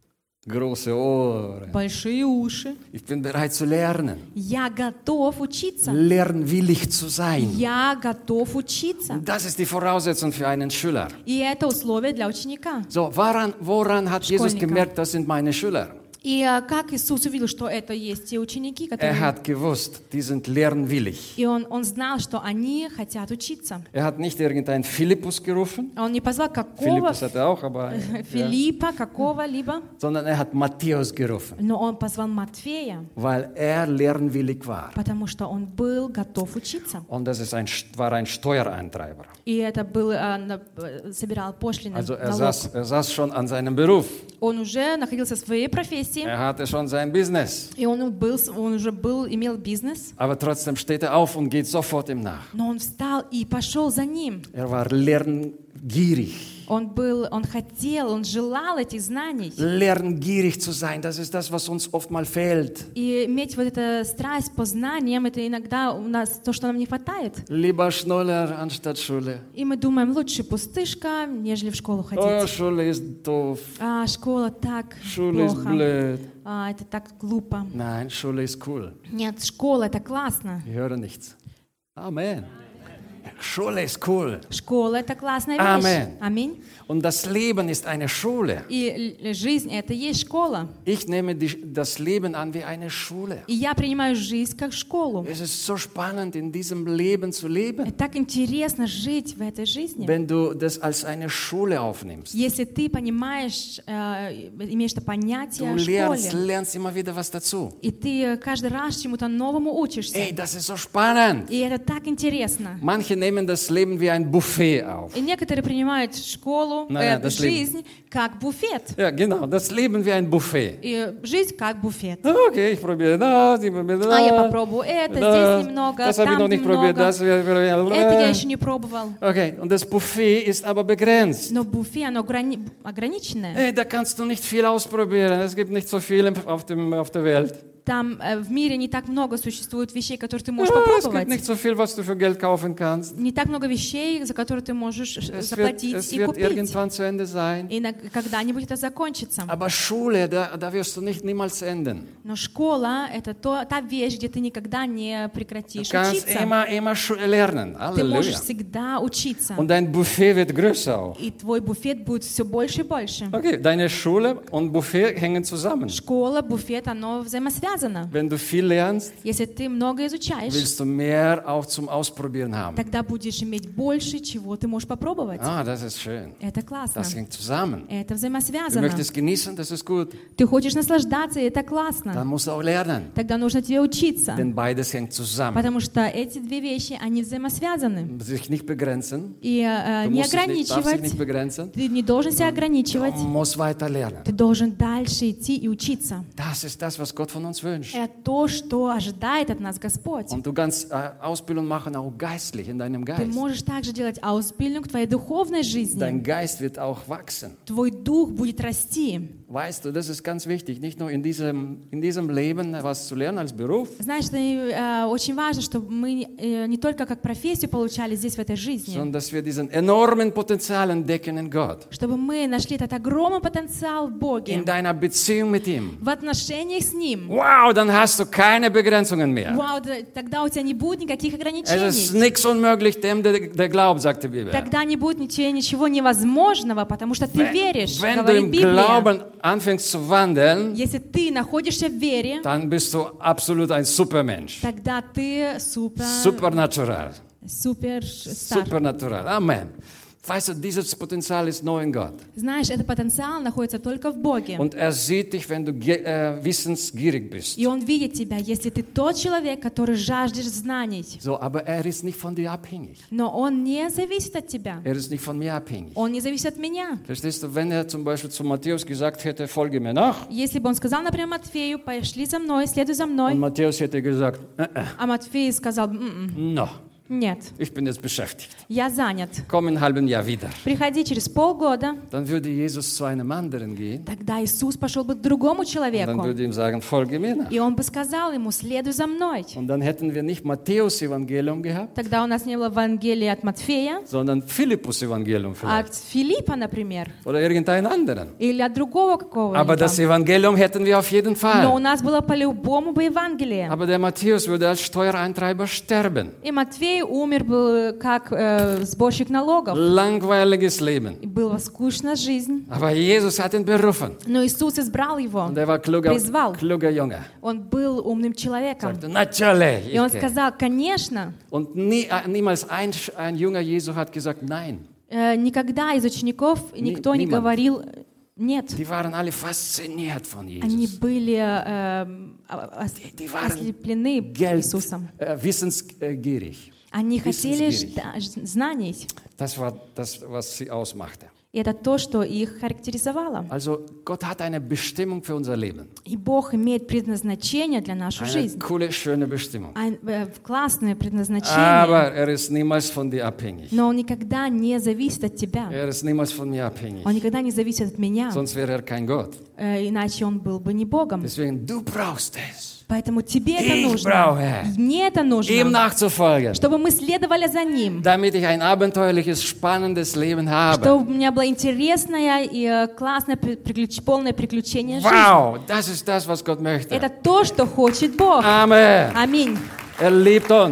Große Ohren. Большие уши. Ich bin bereit zu lernen. Я готов учиться. Lernwillig zu sein. Я готов учиться. Das ist die Voraussetzung für einen Schüler. И это условие для ученика. So, woran, woran hat Jesus Школьника. gemerkt, das sind meine Schüler? И а, как Иисус увидел, что это есть те ученики, Er которые... hat gewusst, die sind lernwillig. И он, он знал, что они хотят учиться. Er hat nicht irgendeinen Philippus gerufen. Он не позвал какого Philippus hat er auch, aber ja. Филиппа, какого-либо, Sondern er hat Matthäus gerufen, но он позвал Матфея, weil er lernwillig war. потому что он был готов учиться. Und das ist ein, war ein Steuereintreiber. И это был, а, на- э, собирал пошлины, Also er налог. saß, er saß schon an seinem Beruf. Он уже находился в своей профессии, Er hatte schon sein Business. и он, был, он уже был, имел бизнес, Aber trotzdem steht er auf und geht sofort ihm nach. но он встал и пошел за ним. Er war lerngierig. Он был, он хотел, он желал этих знаний. Lerngierig zu sein, das ist das, was uns oft mal fehlt. И иметь вот эту страсть по знаниям, это иногда у нас то, что нам не хватает. Lieber Schnuller anstatt Schule. И мы думаем, лучше пустышка, нежели в школу Oh, ходить. Schule ist doof. А, школа так Schule ist плохо. blöd. А, это так глупо. Nein, Schule ist cool. Нет, школа это классно. Ich höre nichts. Amen. Schule ist cool. Школа — это классная вещь. Amen. Аминь. Und das Leben ist eine Schule. И л- жизнь — это и есть школа. Ich nehme die, das Leben an wie eine Schule. И я принимаю жизнь как школу. Es ist so spannend, in diesem Leben zu leben, И так интересно жить в этой жизни. wenn du das als eine Schule aufnimmst. Если ты понимаешь, э, имеешь это понятие Du о lernst, школе, lernst immer wieder was dazu. и ты каждый раз чему-то новому учишься. Ey, das ist so spannend. И это так интересно. Manche nehmen das Leben wie ein Buffet auf. И некоторые принимают школу, Наверное, э, das жизнь как буфет. Ja, genau, das Leben wie ein Buffet. И жизнь как буфет. Okay, ich probiere das, ich probiere das. А я попробую это, das, здесь немного, das habe ich там noch nicht probiert, немного. das. Это я еще не пробовал. Okay, und das Buffet ist aber begrenzt. Но буфет, оно ограни- ограниченное. Hey, da kannst du nicht viel ausprobieren. Es gibt nicht so viel auf, dem, auf der Welt. Там э, в мире не так много существует вещей, которые ты можешь Ja, es gibt попробовать. nicht so viel, was du für Geld kaufen kannst. Не так много вещей, за которые ты можешь Es wird, заплатить es и wird купить. irgendwann zu Ende sein. И на- когда-нибудь это закончится. Aber Schule, da, da wirst du nicht niemals enden. Но школа — это то, та вещь, где ты никогда не Du прекратишь kannst учиться. immer, immer schu- lernen. Ты можешь Halleluja. всегда учиться. Und dein Buffet wird größer auch. И твой буфет будет все больше и больше. Okay, deine Schule und Buffet hängen zusammen. Школа, буфет, оно взаимосвязано. Wenn du viel lernst, Если ты много изучаешь, willst du mehr auch zum Ausprobieren haben. тогда будешь иметь больше, чего ты можешь попробовать. Ah, das ist schön. Это классно. Das hängt zusammen. Это Du взаимосвязано. möchtest genießen, das ist gut. Ты хочешь наслаждаться, и это классно. Dann musst du auch lernen. Тогда нужно тебе учиться. Denn beides hängt zusammen. Потому что эти две вещи, они взаимосвязаны. Sich nicht begrenzen. И э, Du не musst dich nicht, darfst dich nicht ограничивать. begrenzen. Ты не должен себя Du ограничивать. musst weiter lernen. Ты должен дальше идти и учиться. Das ist das, was Gott von uns wünscht. Это то, что ожидает от нас Господь. Und du kannst äh, Ausbildung machen, auch geistlich in deinem Ты Geist. можешь также делать Ausbildung в твоей духовной жизни. Dein Geist wird auch wachsen. Твой дух будет расти. Weißt du, das ist ganz wichtig, nicht nur in diesem, in diesem Leben was zu lernen als Beruf, Знаешь, это э, очень важно, чтобы мы э, не только как профессию получали здесь, в этой жизни, sondern dass wir diesen enormen Potenzial entdecken in Gott. чтобы мы нашли этот огромный потенциal в Боге, In deiner Beziehung mit ihm. в отношениях с Ним. Wow, dann hast du keine Begrenzungen mehr. Вау, да- тогда у тебя не будет никаких Es ist ограничений. nichts unmöglich dem, der, der glaubt, sagt die Bibel. Тогда не будет ничего, ничего невозможного, потому что ты веришь, Wenn du говорит im Библия. Glauben anfängst zu wandeln, Если ты находишься в вере, dann bist du absolut ein Supermensch. тогда ты супер, Supernatural. супер стар. Supernatural. Amen. Weißt du, dieses Potenzial ist nur in Gott. Знаешь, этот потенциал находится только в Боге. Und er sieht dich, wenn du ge- äh, wissensgierig bist. И Он видит тебя, если ты тот человек, который жаждешь знаний. So, aber er ist nicht von dir abhängig. Но Он не зависит от тебя. Er ist nicht von mir abhängig. Он не зависит от меня. Verstehst du, wenn er zum Beispiel zu Matthäus gesagt hätte, folge mir nach, Если бы Он сказал, например, Матфею, пошли за мной, следуй за und мной, Matthäus hätte gesagt, äh, äh, а Матфей сказал, «М-м, no, нет, ich bin jetzt beschäftigt, я занят. komm in einem halben Jahr wieder. Приходи через полгода». Dann würde Jesus zu einem anderen gehen, Тогда Иисус пошел бы к другому und dann человеку. würde ihm sagen, folge mir nach. И Он бы сказал ему, следуй за мной. Und dann hätten wir nicht Matthäus Evangelium gehabt, Тогда у нас не было Евангелия от Матфея, sondern Philippus Evangelium а от vielleicht. Филиппа, например, Oder irgendeinen anderen. или от другого какого-нибудь. Aber das Evangelium hätten wir auf jeden Но у Fall. нас было по-любому бы Евангелие. Aber der Matthäus würde als Steuereintreiber sterben. И Матфей умер бы как э, сборщик налогов. Langweiliges Leben. И была скучная жизнь. Aber Jesus hat ihn berufen. Но Иисус избрал его. Und er war kluger, Призвал. kluger Junge. Он был умным человеком. Sagte, natürlich. И он ich gehe. сказал, конечно. Und nie, niemals ein, ein junger Jesu hat gesagt, nein. Э, никогда из учеников никто не niemand. говорил нет. Die waren alle fasziniert von Они Jesus. были э, ос- die waren ослеплены Geld, Иисусом. äh, wissensgierig. Они хотели wissensgierig. жда- ж- знаний. Das war das, was sie ausmachte. И это то, что их характеризовало. Also Gott hat eine Bestimmung für unser Leben. И Бог имеет предназначение для нашей Eine жизни. coole, schöne Bestimmung. Ein, э, классное предназначение. Aber er ist niemals von dir abhängig. Но он никогда не зависит от тебя. Er ist niemals von mir abhängig. Он никогда не зависит от меня. Sonst wäre er kein Gott. Э, иначе он был бы не Богом. Deswegen, du brauchst es, Поэтому тебе это Ich нужно. brauche Мне это ihm нужно. nachzufolgen, Чтобы мы следовали за ним. damit ich ein abenteuerliches, spannendes Leben habe. Чтобы у меня было интересное и э, классное, при- приключ- полное приключение жизни. Wow, das ist das, was Gott möchte. Это то, что хочет Бог. Amen. Аминь. Er liebt uns.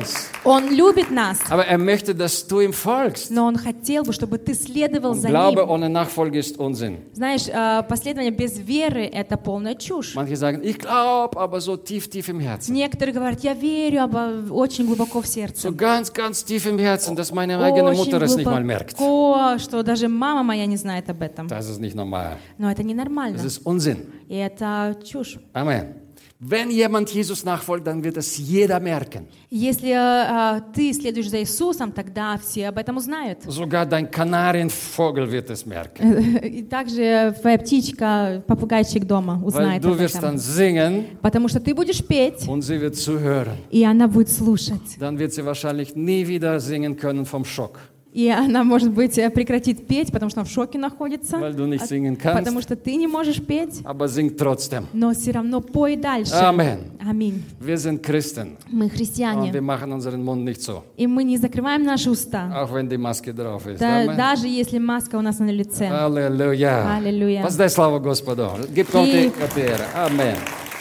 Он любит нас, Aber er möchte, dass du ihm folgst. но Он хотел бы, чтобы ты следовал Und за Glaube Ним. ohne Nachfolge ist Unsinn. Знаешь, э, последование без веры – это полная чушь. Manche sagen, ich glaube, aber so tief, tief im Herzen. Некоторые говорят, я верю, aber очень глубоко в сердце. So ganz, ganz tief im Herzen, dass meine eigene Очень Mutter es nicht mal merkt. глубоко, что даже мама моя не знает об этом. Das ist nicht normal. Но это ненормально. Das ist Unsinn. И это чушь. Amen. Wenn jemand Jesus nachfolgt, dann wird es jeder merken. Если э, ты следуешь за Иисусом, тогда все об этом узнают. Sogar dein Kanarienvogel wird es merken. И также твоя птичка, попугайчик дома Weil узнает du об wirst dann этом. singen Потому что ты будешь петь, und sie wird zuhören. и она будет слушать. Dann wird sie wahrscheinlich nie wieder singen können vom Schock. И она, может быть, э, прекратит петь, потому что она в шоке находится. Weil du nicht От- singen kannst. Потому что ты не можешь петь, Aber sing trotzdem. но все равно пой дальше. Amen. Аминь. Wir sind Christen Мы und wir христиане, machen unseren Mund nicht so, и мы не закрываем наши уста. auch wenn die Maske drauf ist. Да- Amen. даже если маска у нас на лице. Аллилуйя. Аллилуйя. Воздай славу Господу. Gib Gott die И- Ehre. Amen.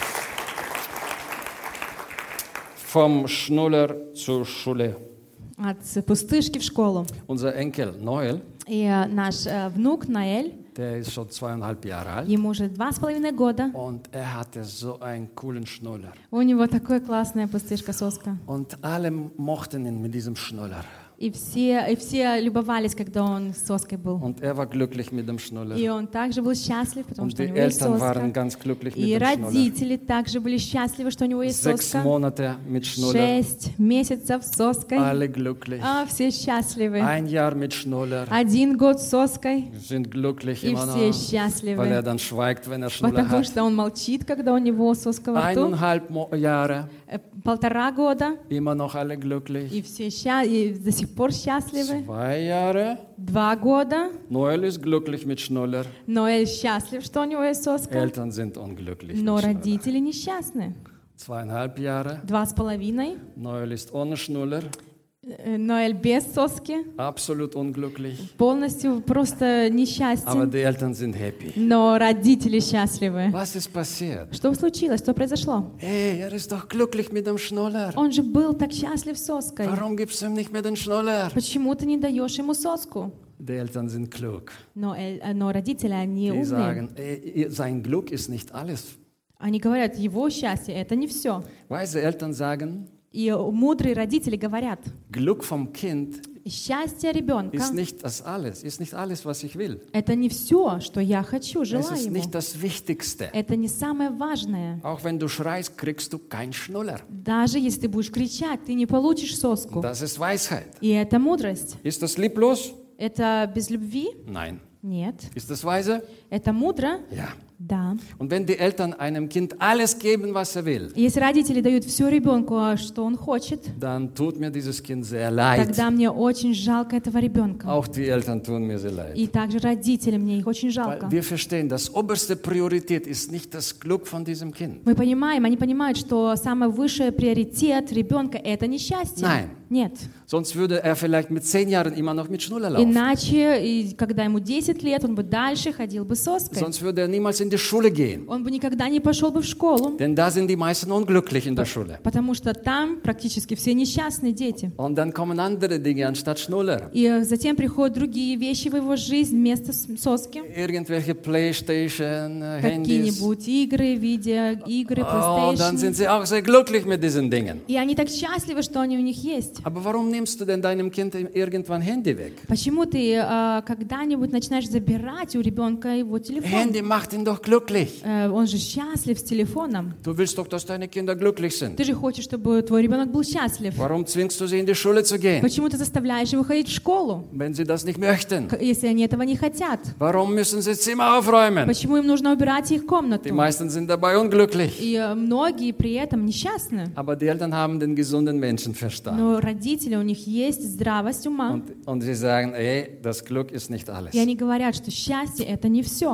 Vom Schnuller zur Schule. От пустышки в школу. Unser Enkel Noel, И э, наш э, внук Наэль, der ist schon zweieinhalb Jahre alt ему уже два с половиной года. und er hatte so einen coolen Schnuller. У него такая классная пустышка-соска. Und alle mochten ihn mit diesem Schnuller. И все, и все любовались, когда он с соской был. Und er war glücklich mit dem Schnuller. И он также был счастлив, потому Und что у die него есть Eltern waren соска. ganz glücklich mit И dem Schnuller. родители также были счастливы, что у него есть Sechs соска. Monate mit Schnuller. Шесть месяцев с соской. Alle glücklich. А, все счастливы. Ein Jahr mit Schnuller. Один год с соской, Sind glücklich и immer все noch, weil er счастливы. dann schweigt, wenn er Schnuller Потому hat. что он молчит, когда у него соска во рту. Eineinhalb Mo- Jahre, Э, Полтора года, immer noch alle glücklich. и все сча- и до сих пор счастливы. Zwei Jahre, Два года, Noel ist glücklich mit Schnuller. Ноэль счастлив, что у него есть соска, Eltern sind unglücklich но mit Schnuller. родители несчастны. Zweieinhalb Jahre, Два с половиной, Noel ist ohne Schnuller, э, Ноэль без соски, absolut unglücklich. полностью просто Aber несчастен, die Eltern sind happy. но родители счастливы. Was ist passiert? Что случилось? Что произошло? Hey, er ist doch glücklich mit dem Schnuller. Он же был так счастлив соской. Warum gibst du ihm nicht mehr den Schnuller? Почему ты не даешь ему соску? Die Eltern sind klug. Но, э, э, но родители, они Die умные. sagen, ey, sein Glück ist nicht alles. Они говорят, его счастье – это не все. Weise Eltern sagen, И мудрые родители говорят, Glück vom Kind счастье ребенка ist nicht das alles, ist nicht alles, was ich will. – это не все, что я хочу, Es желаю ist ему. nicht das Wichtigste. Это не самое важное. Auch wenn du schreist, kriegst du keinen Schnuller. Даже если ты будешь кричать, ты не получишь соску. Das ist Weisheit. И это мудрость. Ist das lieblos? Это без любви? Nein. Нет. Ist das weise? Это мудро? Ja. Да. Und wenn die Eltern einem Kind alles geben, was er will, Если родители дают все ребенку, что он хочет, dann tut mir dieses Kind sehr leid. тогда мне очень жалко этого ребенка. Auch die Eltern tun mir sehr leid. И также родители, мне их очень Weil жалко. wir verstehen, das oberste Priorität ist nicht das Glück von diesem Kind. Мы понимаем, они понимают, что самый высший приоритет ребенка – это несчастье. Nein. Нет. Sonst würde er vielleicht mit zehn Jahren immer noch mit Schnuller laufen. Иначе, и когда ему десять лет, он бы дальше ходил бы с соской. Sonst würde er niemals in die Schule gehen. Он бы никогда не пошел бы в школу, Denn da sind die meisten unglücklich in der Schule. потому что там практически все несчастные дети. Und dann kommen andere Dinge anstatt Schnuller. И затем приходят другие вещи в его жизнь вместо с- соски. Irgendwelche Playstation, äh, Handys. Какие-нибудь игры, видеоигры, Oh, und dann sind PlayStation. sie auch sehr glücklich mit diesen Dingen. И они так счастливы, что они у них есть. Aber warum nimmst du denn deinem Kind irgendwann Handy weg? Почему ты э, когда-нибудь начинаешь забирать у ребенка его телефон? Handy macht ihn doch glücklich. Э, он же счастлив с телефоном. Du willst doch, dass deine Kinder glücklich sind. Ты же хочешь, чтобы твой ребенок был счастлив. Warum zwingst du sie in die Schule zu gehen, Почему ты заставляешь его ходить в школу, wenn sie das nicht möchten? к- если они этого не хотят? Warum müssen sie Zimmer aufräumen? Почему им нужно убирать их Die комнату? meisten sind dabei unglücklich. И э, многие при этом несчастны. Aber die Eltern haben den gesunden Menschenverstand. Но родители, у них есть здравость ума. Und, und sie sagen, ey, das Glück ist nicht alles. И они говорят, что счастье – это не все.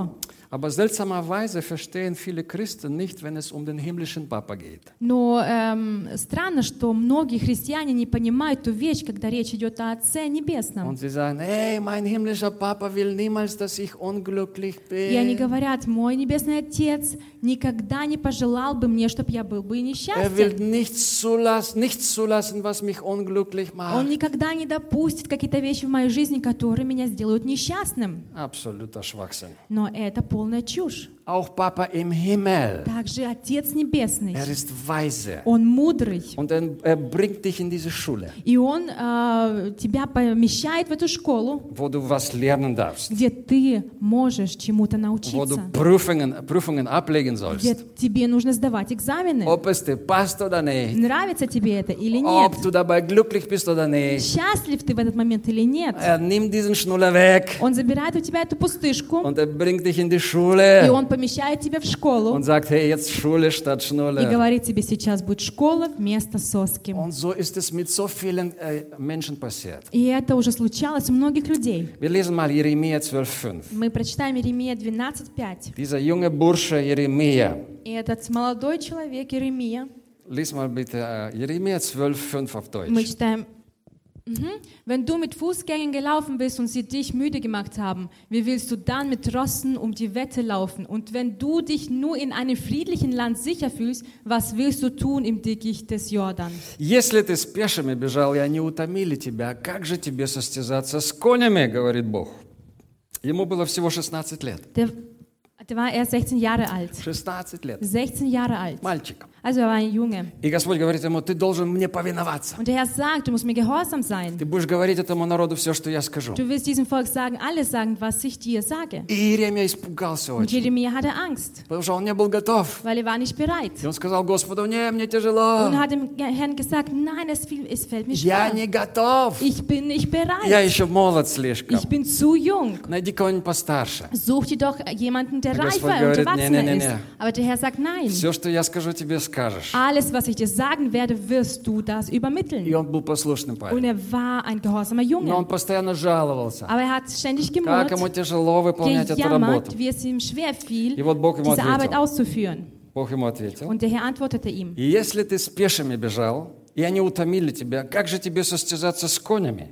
Aber seltsamerweise verstehen viele Christen nicht, wenn es um den himmlischen Papa geht. Но эм, странно, что многие христиане не понимают ту вещь, когда речь идет о Отце Небесном. Und sie sagen, hey, mein himmlischer Papa will niemals, dass ich unglücklich И они bin. говорят, мой Небесный Отец никогда не пожелал бы мне, чтобы я был бы Er will несчастен. nichts zulassen, nichts zulassen, was mich unglücklich Он macht. никогда не допустит какие-то вещи в моей жизни, которые меня сделают несчастным. Absoluter Schwachsinn. Но это полная чушь. Auch Papa im Himmel, Также Отец Небесный, er ist weise. Он мудрый. Und er, er bringt dich in diese Schule, И Он э, тебя помещает в эту школу, wo du was lernen darfst, где ты можешь чему-то wo du научиться, Prüfungen, Prüfungen ablegen где sollst. тебе нужно сдавать экзамены. Ob es dir passt oder nicht, Нравится тебе это или нет? ob du dabei glücklich bist oder nicht. Счастлив ты в этот момент или нет? Er nimmt diesen Schnuller weg Он забирает у тебя эту пустышку, und er bringt dich in die и Schule Он помещает тебя в школу und sagt, hey, jetzt Schule statt и Schnuller. говорит тебе, сейчас будет школа вместо соски. Und so ist es mit so vielen äh, Menschen passiert. И это уже случалось у многих людей. Wir lesen mal Jeremia zwölf fünf. Мы прочитаем Иеремия двенадцать пять. Dieser junge Bursche Jeremia. И этот молодой человек Иеремия, Lies mal bitte äh, Jeremia zwölf fünf auf мы Deutsch. читаем, mhm. Wenn du mit Fußgängern gelaufen bist und sie dich müde gemacht haben, wie willst du dann mit Rossen um die Wette laufen? Und wenn du dich nur in einem friedlichen Land sicher fühlst, was willst du tun im Dickicht des Jordan? Если ты с пешими бежал, и они утомили тебя, как же тебе состязаться с конями, говорит Бог. Ему было всего шестнадцать лет. Der, der war erst sechzehn Jahre alt. шестнадцать лет. sechzehn Jahre alt. Мальчик. Also er war ein Junge. И Господь говорит ему, ты должен мне повиноваться. Und der Herr sagt, du musst mir gehorsam sein. Ты будешь говорить этому народу все, что я скажу. Du wirst diesem Volk sagen, alles sagen, was ich dir sage. И Иеремия испугался Und очень, Jeremia hatte Angst, потому что он не был готов. weil er war nicht bereit. И он сказал Господу, не, мне тяжело. Und hat dem Herrn gesagt, nein, es, viel, es fällt mir Я schwer. не готов. Ich bin nicht Я bereit. еще молод слишком. Ich bin zu jung. Найди кого-нибудь постарше. Such dir doch jemanden, der Der reifer Господь und говорит, erwachsener «Не, не, не, ist. не». Aber der Herr sagt, nein. Все, что я скажу, тебе скажешь. Alles, was ich dir sagen werde, wirst du das И übermitteln. он был послушным Und парень. er war ein gehorsamer Но он Junge. постоянно жаловался. Aber er hat ständig Как ему gemurrt, тяжело выполнять эту работу. gejammert, wie es ihm schwer fiel, И вот Бог ему diese Arbeit ответил. auszuführen. Бог ему ответил. Und der Herr antwortete ihm, И если ты с пешими бежал, и они утомили тебя, как же тебе состязаться с конями?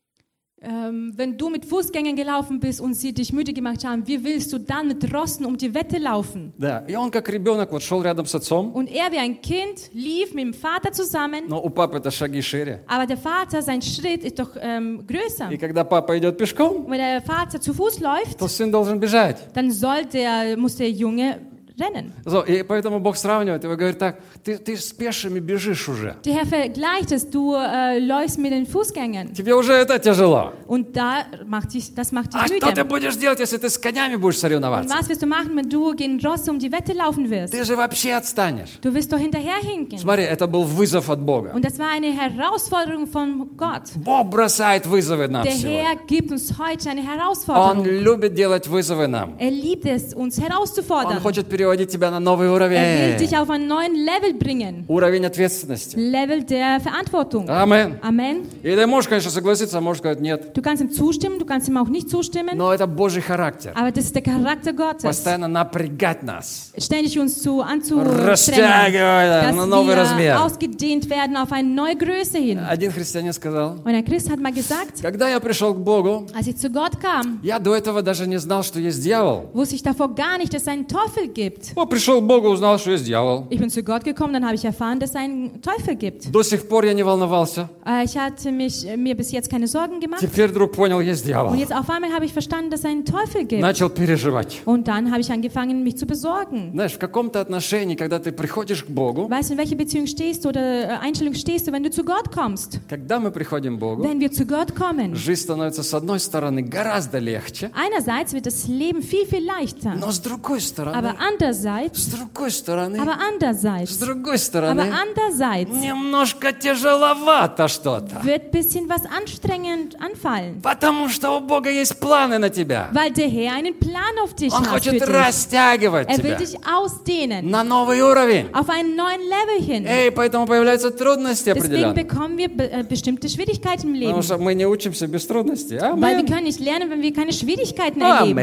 ähm, wenn du mit Fußgängern gelaufen bist und sie dich müde gemacht haben, wie willst du dann mit Rossen um die Wette laufen? Да, и он как ребенок вот шел рядом с отцом, Und er wie ein Kind lief mit dem Vater zusammen, но у папы-то шаги шире. aber der Vater, sein Schritt ist doch ähm, größer. И когда папа идет пешком, Und wenn der Vater zu Fuß läuft, то сын должен бежать. dann soll der, muss der Junge rennen. So, и поэтому Бог сравнивает его и говорит так, ты, ты с пешими бежишь уже. Der Herr vergleicht es, du äh, läufst mit den Fußgängern. Тебе уже это tяжело. Und da macht dich, das macht dich А что ты müde. будешь делать, если ты с конями будешь Und соревноваться? was wirst du machen, wenn du gegen Rosse um die Wette laufen wirst? Ты же вообще отстанешь. Du wirst doch hinterherhinken. Смотри, это был вызов от Бога. Und das war eine Herausforderung von Gott. Бог бросает вызовы нам Der сегодня. Herr gibt uns heute eine Он Herausforderung. любит делать вызовы нам. Er liebt es, uns Он herauszufordern. хочет переводить тебя на новый Er will уровень. dich auf einen neuen Level bringen. Уровень ответственности. Level der Verantwortung. Амен. Amen. И ты можешь, конечно, согласиться, а можешь сказать нет. Du kannst ihm zustimmen, du kannst ihm auch nicht zustimmen, Но это Божий характер. aber das ist der Charakter Gottes. Постоянно напрягать нас. Ständig uns zu anzustrengen, Растягивать на dass новый wir размер. ausgedehnt werden auf eine neue Größe hin. Один христианин сказал, Und ein Christ hat mal gesagt, когда я пришел к Богу, als ich zu Gott kam, я до этого даже не знал, что есть дьявол. wusste ich davor gar nicht, dass es einen Teufel gibt. О, пришел к Богу, узнал, что есть дьявол. Ich bin zu Gott gekommen, dann habe ich erfahren, dass es einen Teufel gibt. До сих пор я не волновался. Äh, Ich hatte mich, äh, mir bis jetzt keine Sorgen gemacht. Теперь вдруг понял, есть дьявол. Und jetzt auf einmal habe ich verstanden, dass es einen Teufel gibt. Начал переживать. Und dann habe ich angefangen, mich zu besorgen. Знаешь, в каком-то отношении, когда ты приходишь к Богу, Weißt du, in welcher Beziehung stehst du oder äh, Einstellung stehst du, wenn du zu Gott kommst? когда мы приходим к Богу, Wenn wir zu Gott kommen, жизнь становится, с одной стороны, гораздо легче, einerseits wird das Leben viel, viel leichter. но с другой стороны, Aber andererseits, с другой стороны, aber с andererseits, другой aber стороны, andererseits немножко тяжеловато что-то. wird ein bisschen was anstrengend anfallen. Потому что у Бога есть планы на тебя. Weil der Herr einen Plan auf dich Он hat für хочет dich. растягивать Er will тебя dich ausdehnen на новый уровень. auf einen neuen Level hin. Эй, поэтому появляются трудности Deswegen определенные. bekommen wir be äh, bestimmte Schwierigkeiten im Leben. Потому что мы не учимся без трудностей. Weil wir Амен. können nicht lernen, wenn wir keine Schwierigkeiten erleben.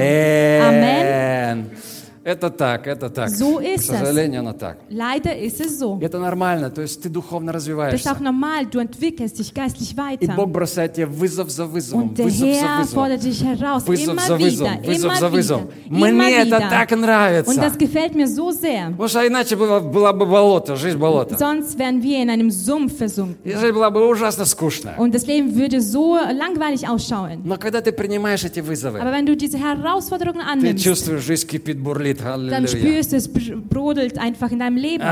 Амен. Это так, это так. So К ist es. сожалению, оно так. Leider ist es so. Это нормально, то есть ты духовно Das ist развиваешься. auch normal, du entwickelst dich geistlich И weiter. Бог бросает тебе вызов за вызовом, Und der вызов за Herr вызовом. fordert dich heraus, Вызов immer за вызовом, wieder, вызов immer за wieder, вызовом. immer Мне это wieder. так Und нравится. das gefällt mir so sehr. Потому что иначе было, была бы болото, жизнь болото. Sonst wären wir in einem Sumpf И versunken. жизнь была бы ужасно скучная. Und das Leben würde so langweilig ausschauen. Но когда ты принимаешь эти вызовы, Aber wenn du diese Herausforderungen ты annimmst, чувствуешь, жизнь кипит, бурлит. dann Аллилуйя. spürst du, es br- brodelt einfach in deinem Leben.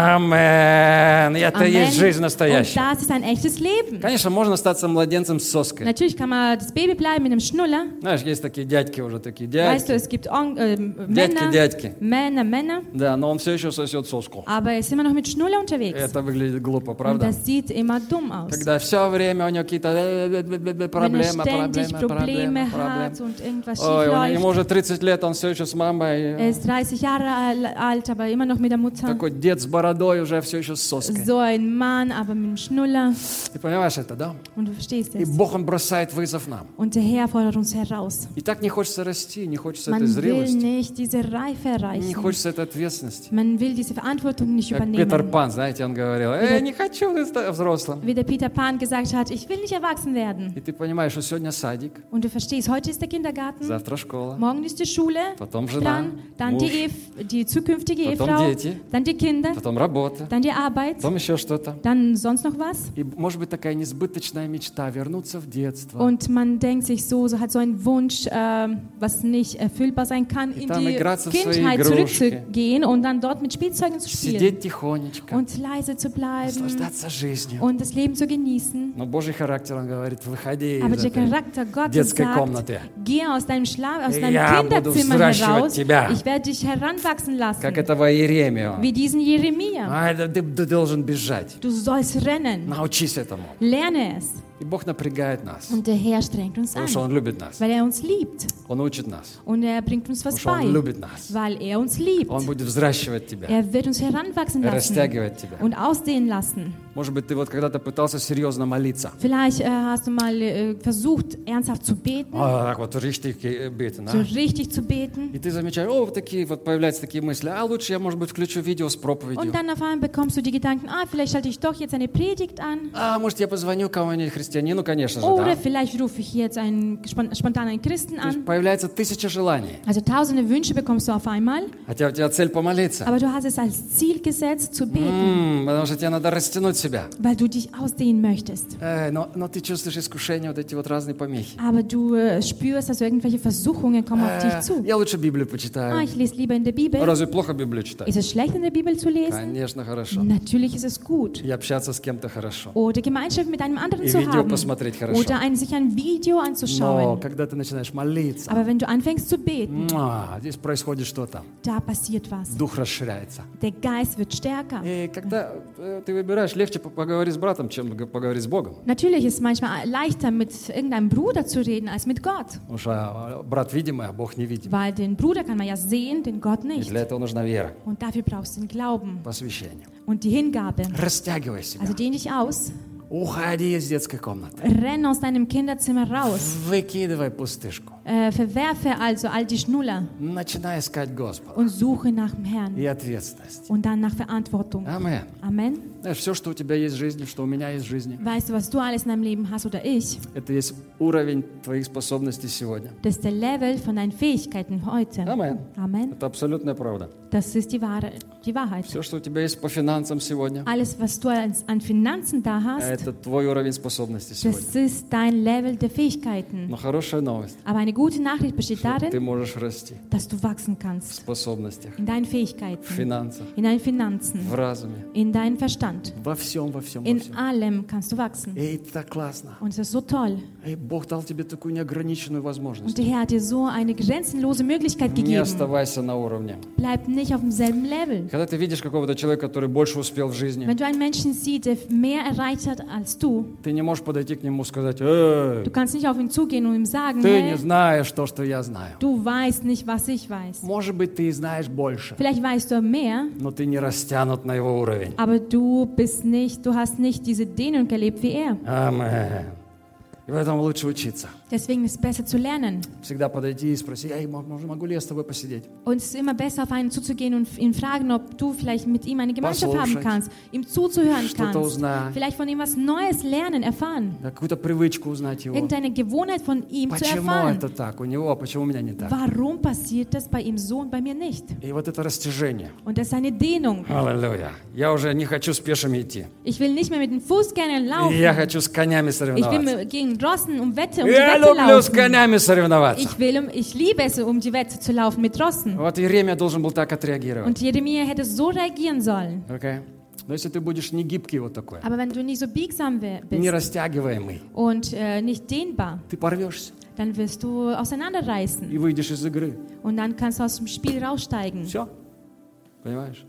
Амен. Это и есть жизнь Und настоящая. das ist ein echtes Leben. Конечно, можно остаться младенцем с соской. Natürlich kann man das Baby bleiben mit einem Schnuller. Знаешь, есть такие дядьки уже, такие Weißt du, дядьки. es gibt On äh, Дядьки, Männer, дядьки. Männer, Männer, Да, но он все еще сосет соску. aber er ist immer noch mit Schnuller unterwegs. Это выглядит глупо, Und правда? das sieht immer dumm aus. Когда все время у него какие-то э, Wenn er проблемы, ständig проблемы, Probleme проблемы, hat проблемы. und irgendwas Ой, schief он- ему läuft. уже тридцать лет, он все еще с мамой. Er ist dreißig Jahre al- alt, aber immer noch mit der Mutter. Такой дед с бородой уже все еще с соской. So ein Mann, aber mit einem Schnuller. Ты понимаешь это, да? Und du verstehst И es. Бог, Он бросает вызов нам. Und der Herr fordert uns heraus. И так не хочется расти, не хочется Man этой will зрелости, nicht diese Reife не erreichen. хочется этой ответственности. Man will diese Verantwortung nicht Как Питер übernehmen. Пан, знаете, он говорил, «Эй, не хочу быть взрослым». Wie der Peter Pan gesagt hat, ich will nicht erwachsen werden. И ты понимаешь, что сегодня садик, Und du verstehst, heute ist der Kindergarten, завтра школа, morgen ist die Schule потом жена, dran, dann муж, die, Ehe, die zukünftige Потом Ehefrau, дети. dann die Kinder, потом работа, dann die Arbeit, потом еще что-то. dann sonst noch was. И может быть такая несбыточная мечта вернуться в детство. Und man denkt sich so, so hat so einen Wunsch, ähm, was nicht erfüllbar sein kann, in там die играться в свои Kindheit игрушки. zurückzugehen und dann dort mit Spielzeugen zu spielen Сидеть тихонечко, und leise zu bleiben наслаждаться жизнью. und das Leben zu genießen. Но Божий характер, он говорит, выходи Aber из der этой Charakter Gottes детской sagt, комнаты. geh aus deinem Schlaf, aus deinem Я буду Kinderzimmer взращивать heraus. тебя. Ich werde dich heranwachsen lassen, Как этого Иеремию. wie diesen Jeremia. А, это ты, ты должен бежать. Du sollst rennen, Научись этому. lerne es. И Бог напрягает нас, Und der Herr strengt uns потому что an, Он любит нас. weil er uns liebt. Он учит нас, Und er bringt uns was потому что Он bei, любит нас. weil er uns liebt. Он будет взращивать тебя, Er wird uns heranwachsen lassen растягивать тебя. und ausdehnen lassen. Может быть, ты вот когда-то пытался серьезно молиться. Vielleicht äh, hast du mal äh, versucht, ernsthaft zu beten, А, так вот, richtig äh, beten, so а? richtig zu beten. И ты замечаешь, о, вот такие вот появляются такие мысли, а лучше я, может быть, включу видео с проповедью. Und dann auf einmal bekommst du die Gedanken, ah, vielleicht schalte ich doch jetzt eine Predigt an. А, может, я позвоню кому-нибудь христианину, конечно же, Oder да? vielleicht rufe ich jetzt einen, spon- spontan einen Christen То есть an. появляется тысяча желаний, Also tausende Wünsche bekommst du auf einmal, хотя у тебя цель помолиться. aber du hast es als Ziel gesetzt, zu beten, М, потому что тебе надо растянуть себя. weil du dich ausdehnen möchtest. Э, но, но ты чувствуешь искушение, вот эти вот разные помехи. Aber du äh, spürst, dass irgendwelche Versuchungen kommen auf Э, dich zu. я лучше Библию Ah, почитаю. ich lese lieber in der Bibel. Разве плохо Библию читать? Ist es schlecht, in der Bibel zu lesen? Конечно, хорошо. Natürlich ist es gut. И общаться с кем-то хорошо. Oder Gemeinschaft mit einem anderen И zu видео haben. посмотреть хорошо. Oder ein, sich ein Video Но anzuschauen. когда ты начинаешь молиться, Aber wenn du anfängst zu beten, муа, здесь происходит что-то. da passiert was. Дух расширяется. Der Geist wird stärker. И когда э, ты выбираешь, легче по- поговорить с братом, чем г- поговорить с Богом. Natürlich ist es manchmal leichter, mit irgendeinem Bruder zu reden, als mit Gott. Потому что э, брат видимый, а Бог невидимый. Weil den Bruder kann man ja sehen, den Gott И nicht. для этого нужна вера, Und dafür brauchst du den Glauben посвящение. und die Hingabe. Растягивай себя. Also dehn dich aus, Уходи из детской комнаты. renn aus deinem Kinderzimmer raus. Выкидывай пустышку. Äh, verwerfe also all die Schnuller Начинай искать Господа. und suche nach dem Herrn. И ответственность. Und dann nach Verantwortung. Амен. Amen. Знаешь, все, что у тебя есть в жизни, что у меня есть в жизни, Weißt du, was du alles in deinem Leben hast oder ich? это есть уровень твоих способностей сегодня. Das ist der Level von deinen Fähigkeiten heute. Амен. Amen. Это абсолютная правда. Das ist die, wahre, die Wahrheit. Все, что у тебя есть по финансам сегодня, Alles, was du als, an Finanzen da hast, это твой уровень способностей сегодня. das ist dein Level der Fähigkeiten. Но хорошая новость, Aber eine gute Nachricht besteht что ты darin, можешь расти dass du wachsen в kannst способностях, in deinen в Fähigkeiten, финансах, in deinen Finanzen, в разуме, in deinem Verstand, Wohlstand. Во всем, во всем, во In всем. allem kannst du wachsen. Эй, так классно. Und es ist so toll. Эй, Бог дал тебе такую неограниченную Und возможность. der Herr hat dir so eine grenzenlose Möglichkeit Не gegeben. оставайся на уровне. Bleib nicht auf demselben Level. Когда ты видишь какого-то человека, который больше успел в жизни, Wenn du einen Menschen siehst, der mehr erreicht hat als du, ты не можешь подойти к нему и сказать: «Эй, du kannst nicht auf ihn zugehen und ihm sagen, ты не hey, знаешь то, что я знаю». du weißt nicht, was ich weiß. Может быть, ты и знаешь больше, Vielleicht weißt du mehr, но ты не растянут на его уровень. aber du bist nicht, du hast nicht diese Dehnung erlebt wie er. Амен. И в этом лучше учиться. Deswegen ist es besser zu lernen. Всегда подойти и спроси: «Эй, мо- могу ли я с тобой посидеть?» Und es ist immer besser, auf einen zuzugehen und ihn fragen, ob du vielleicht mit ihm eine Gemeinschaft haben Послушать. kannst, ihm zuzuhören Что-то kannst, узнать, vielleicht von ihm was Neues lernen, erfahren, да, какую-то привычку узнать его. irgendeine Gewohnheit von ihm zu Почему erfahren. это так у него, а почему у меня не так? Warum passiert das bei ihm so und bei mir nicht? И вот это растяжение. Und das ist eine Dehnung. Аллилуйя. Я уже не хочу с пешими идти. Ich will nicht mehr mit den Fußgängern laufen. Я хочу с конями Ich will соревноваться. mit- gegen Rossen um Wette, um die Я Wette люблю с laufen. конями соревноваться. Ich, will, um- ich liebe es, um die Wette zu laufen mit Rossen. Вот Иеремия должен был так отреагировать. Und Jeremia hätte so reagieren sollen. Okay? Но если ты будешь не гибкий вот такой, Aber wenn du nicht so biegsam wär- не bist растягиваемый, und äh, nicht dehnbar, ты порвешься dann wirst du auseinanderreißen. и выйдешь из игры. Und dann kannst du aus dem Spiel raussteigen. Все. Понимаешь?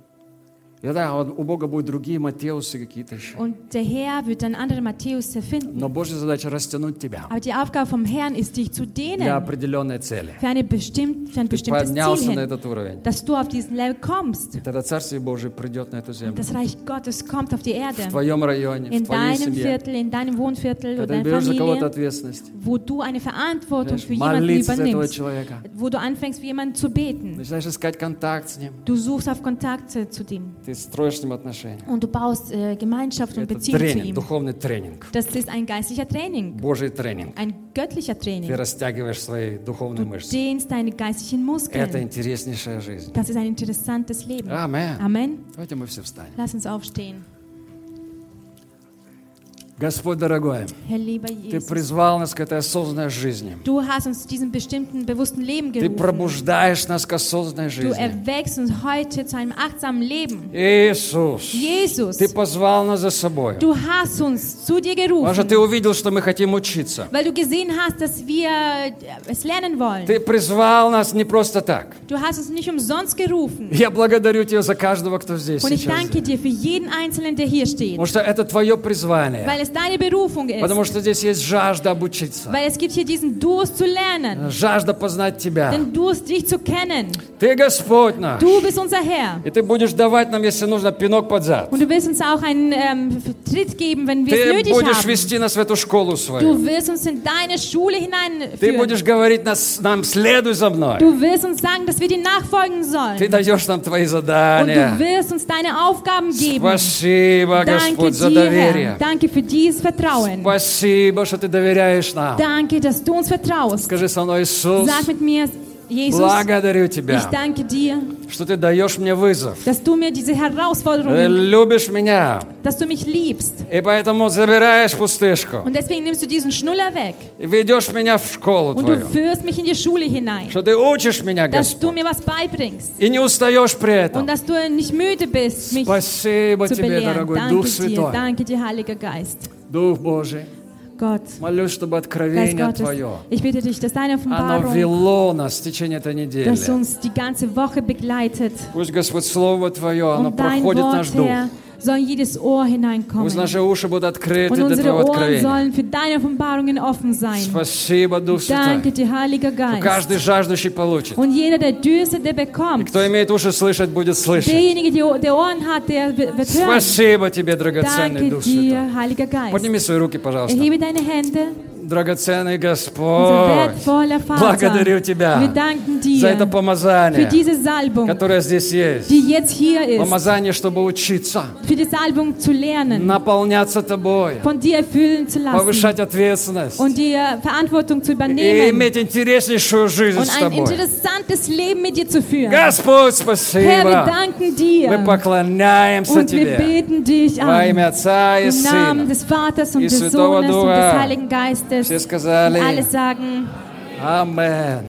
И да, он- у Бога будут другие Матеусы какие-то еще. Und der Herr wird dann andere Matthäus erfinden. Но Божья задача растянуть тебя Aber die Aufgabe vom Herrn ist, dich zu для dehnen определенной цели. für, eine bestimmt, für ein Ты bestimmtes поднялся Ziel на hin, этот уровень. dass du auf diesen Level kommst. И тогда Царствие Божие придет на эту землю. Das Reich Gottes kommt auf die Erde. В твоем районе, в In твоей deinem семье. Viertel, in deinem Wohnviertel oder Когда ты deiner берешь за кого-то Familie, ответственность, wo du eine Verantwortung знаешь, für jemanden молиться за этого übernimmst, человека, wo du anfängst, für jemanden zu beten. начинаешь искать контакт с ним, Du suchst auf Kontakte zu dem ты строишь с ним отношения. und du baust äh, Gemeinschaft und Это Beziehung zu тренинг, ihm. духовный тренинг, Das ist ein geistlicher Training, Божий тренинг. ein göttlicher Ты Training. растягиваешь свои духовные Du мышцы. dehnst deine geistlichen Это Muskeln. интереснейшая жизнь. Das ist ein interessantes Leben. Amen. Amen. Давайте мы все встанем. Lass uns aufstehen. Господь дорогой, Herr lieber Ты Jesus, призвал нас к этой осознанной жизни. du hast uns zu diesem bestimmten, bewussten Leben Ты gerufen. пробуждаешь нас к осознанной Du жизни. erweckst uns heute zu einem achtsamen Leben. Иисус, Jesus, Ты позвал нас за собой. du hast uns zu dir Потому что gerufen, Ты увидел, что мы хотим учиться. weil du gesehen hast, dass wir es lernen wollen. Ты призвал нас не просто так. Du hast uns nicht umsonst gerufen. Я благодарю Тебя за каждого, кто здесь Und ich сейчас. danke dir für jeden Einzelnen, der hier steht, Потому что это Твое призвание. weil es deine Berufung Потому ist. что здесь есть жажда обучиться. Weil es gibt hier diesen Durst zu lernen, Жажда познать Тебя. den Durst, dich zu kennen. Ты Господь наш. Du bist unser Herr. И Ты будешь давать нам, если нужно, пинок под зад. Und du wirst uns auch einen ähm, Tritt geben, wenn wir es Ты nötig будешь haben. вести нас в эту школу свою. Du wirst uns in deine Schule Ты hineinführen. будешь говорить нас, нам, следуй за мной. Du wirst uns sagen, dass wir dir nachfolgen Ты sollen. даешь нам Твои Und du задания. wirst uns deine Aufgaben geben. Спасибо, Danke Господь, за dir, Herr. доверие. Danke für dieses Vertrauen. Спасибо, что Ты доверяешь нам. Danke, dass du uns vertraust. Скажи со мной: Иисус, Sag mit mir, Jesus, благодарю ich Тебя, danke dir, что Ты даешь мне вызов. dass du mir diese Ты Herausforderungen, любишь меня. dass du mich liebst. И поэтому забираешь пустышку. Und deswegen nimmst du diesen Schnuller weg. И ведешь меня в школу Und du Твою. führst mich in die Schule hinein. Что Ты учишь меня, Dass du Господь. mir was beibringst. И не устаешь при Und этом. dass du nicht müde bist, mich Спасибо zu Тебе, belehren. дорогой Дух Danke dir, Святой. danke dir, Heiliger Geist. Дух Божий. Gott, Молюсь, чтобы Geist откровение Gottes, Твое, ich bitte dich, dass deine оно Offenbarung, вело нас в течение этой недели. dass uns die ganze Woche begleitet. Пусть, Господь, Слово Твое, оно Und dein проходит наш Wort, дух. Herr, soll in jedes Ohr hineinkommen. Пусть наши уши будут открыты Und для unsere Твоего Ohren откровения. sollen für deine Offenbarungen offen sein. Спасибо, Дух Danke Святой. dir, Heiliger Что каждый Geist. жаждущий получит. Und jeder, der dürstet, der И bekommt. кто имеет уши слышать, будет слышать. Derjenige, der der Ohren hat, der wird hören. Спасибо Тебе, драгоценный Danke Дух Святой. dir, Heiliger Geist. Подними свои руки, пожалуйста. Erhebe deine Hände. Драгоценный Unser Господь, wertvoller Vater. благодарю Wir Тебя danken за это dir für помазание, diese Salbung, которое здесь есть. die jetzt hier ist. Помазание, чтобы учиться, Für die Salbung zu lernen, наполняться Тобой, von dir erfüllen zu lassen повышать ответственность und dir Verantwortung zu и übernehmen иметь интереснейшую жизнь und с ein Тобой. interessantes Leben mit dir zu führen. Господь, Herr, wir спасибо! danken Мы dir поклоняемся und wir Тебе beten dich во an. имя Отца и Im Namen Сына. des Vaters und и des Святого Sohnes und Духа. des Heiligen Geistes. Все сказали Alle sagen, Амен.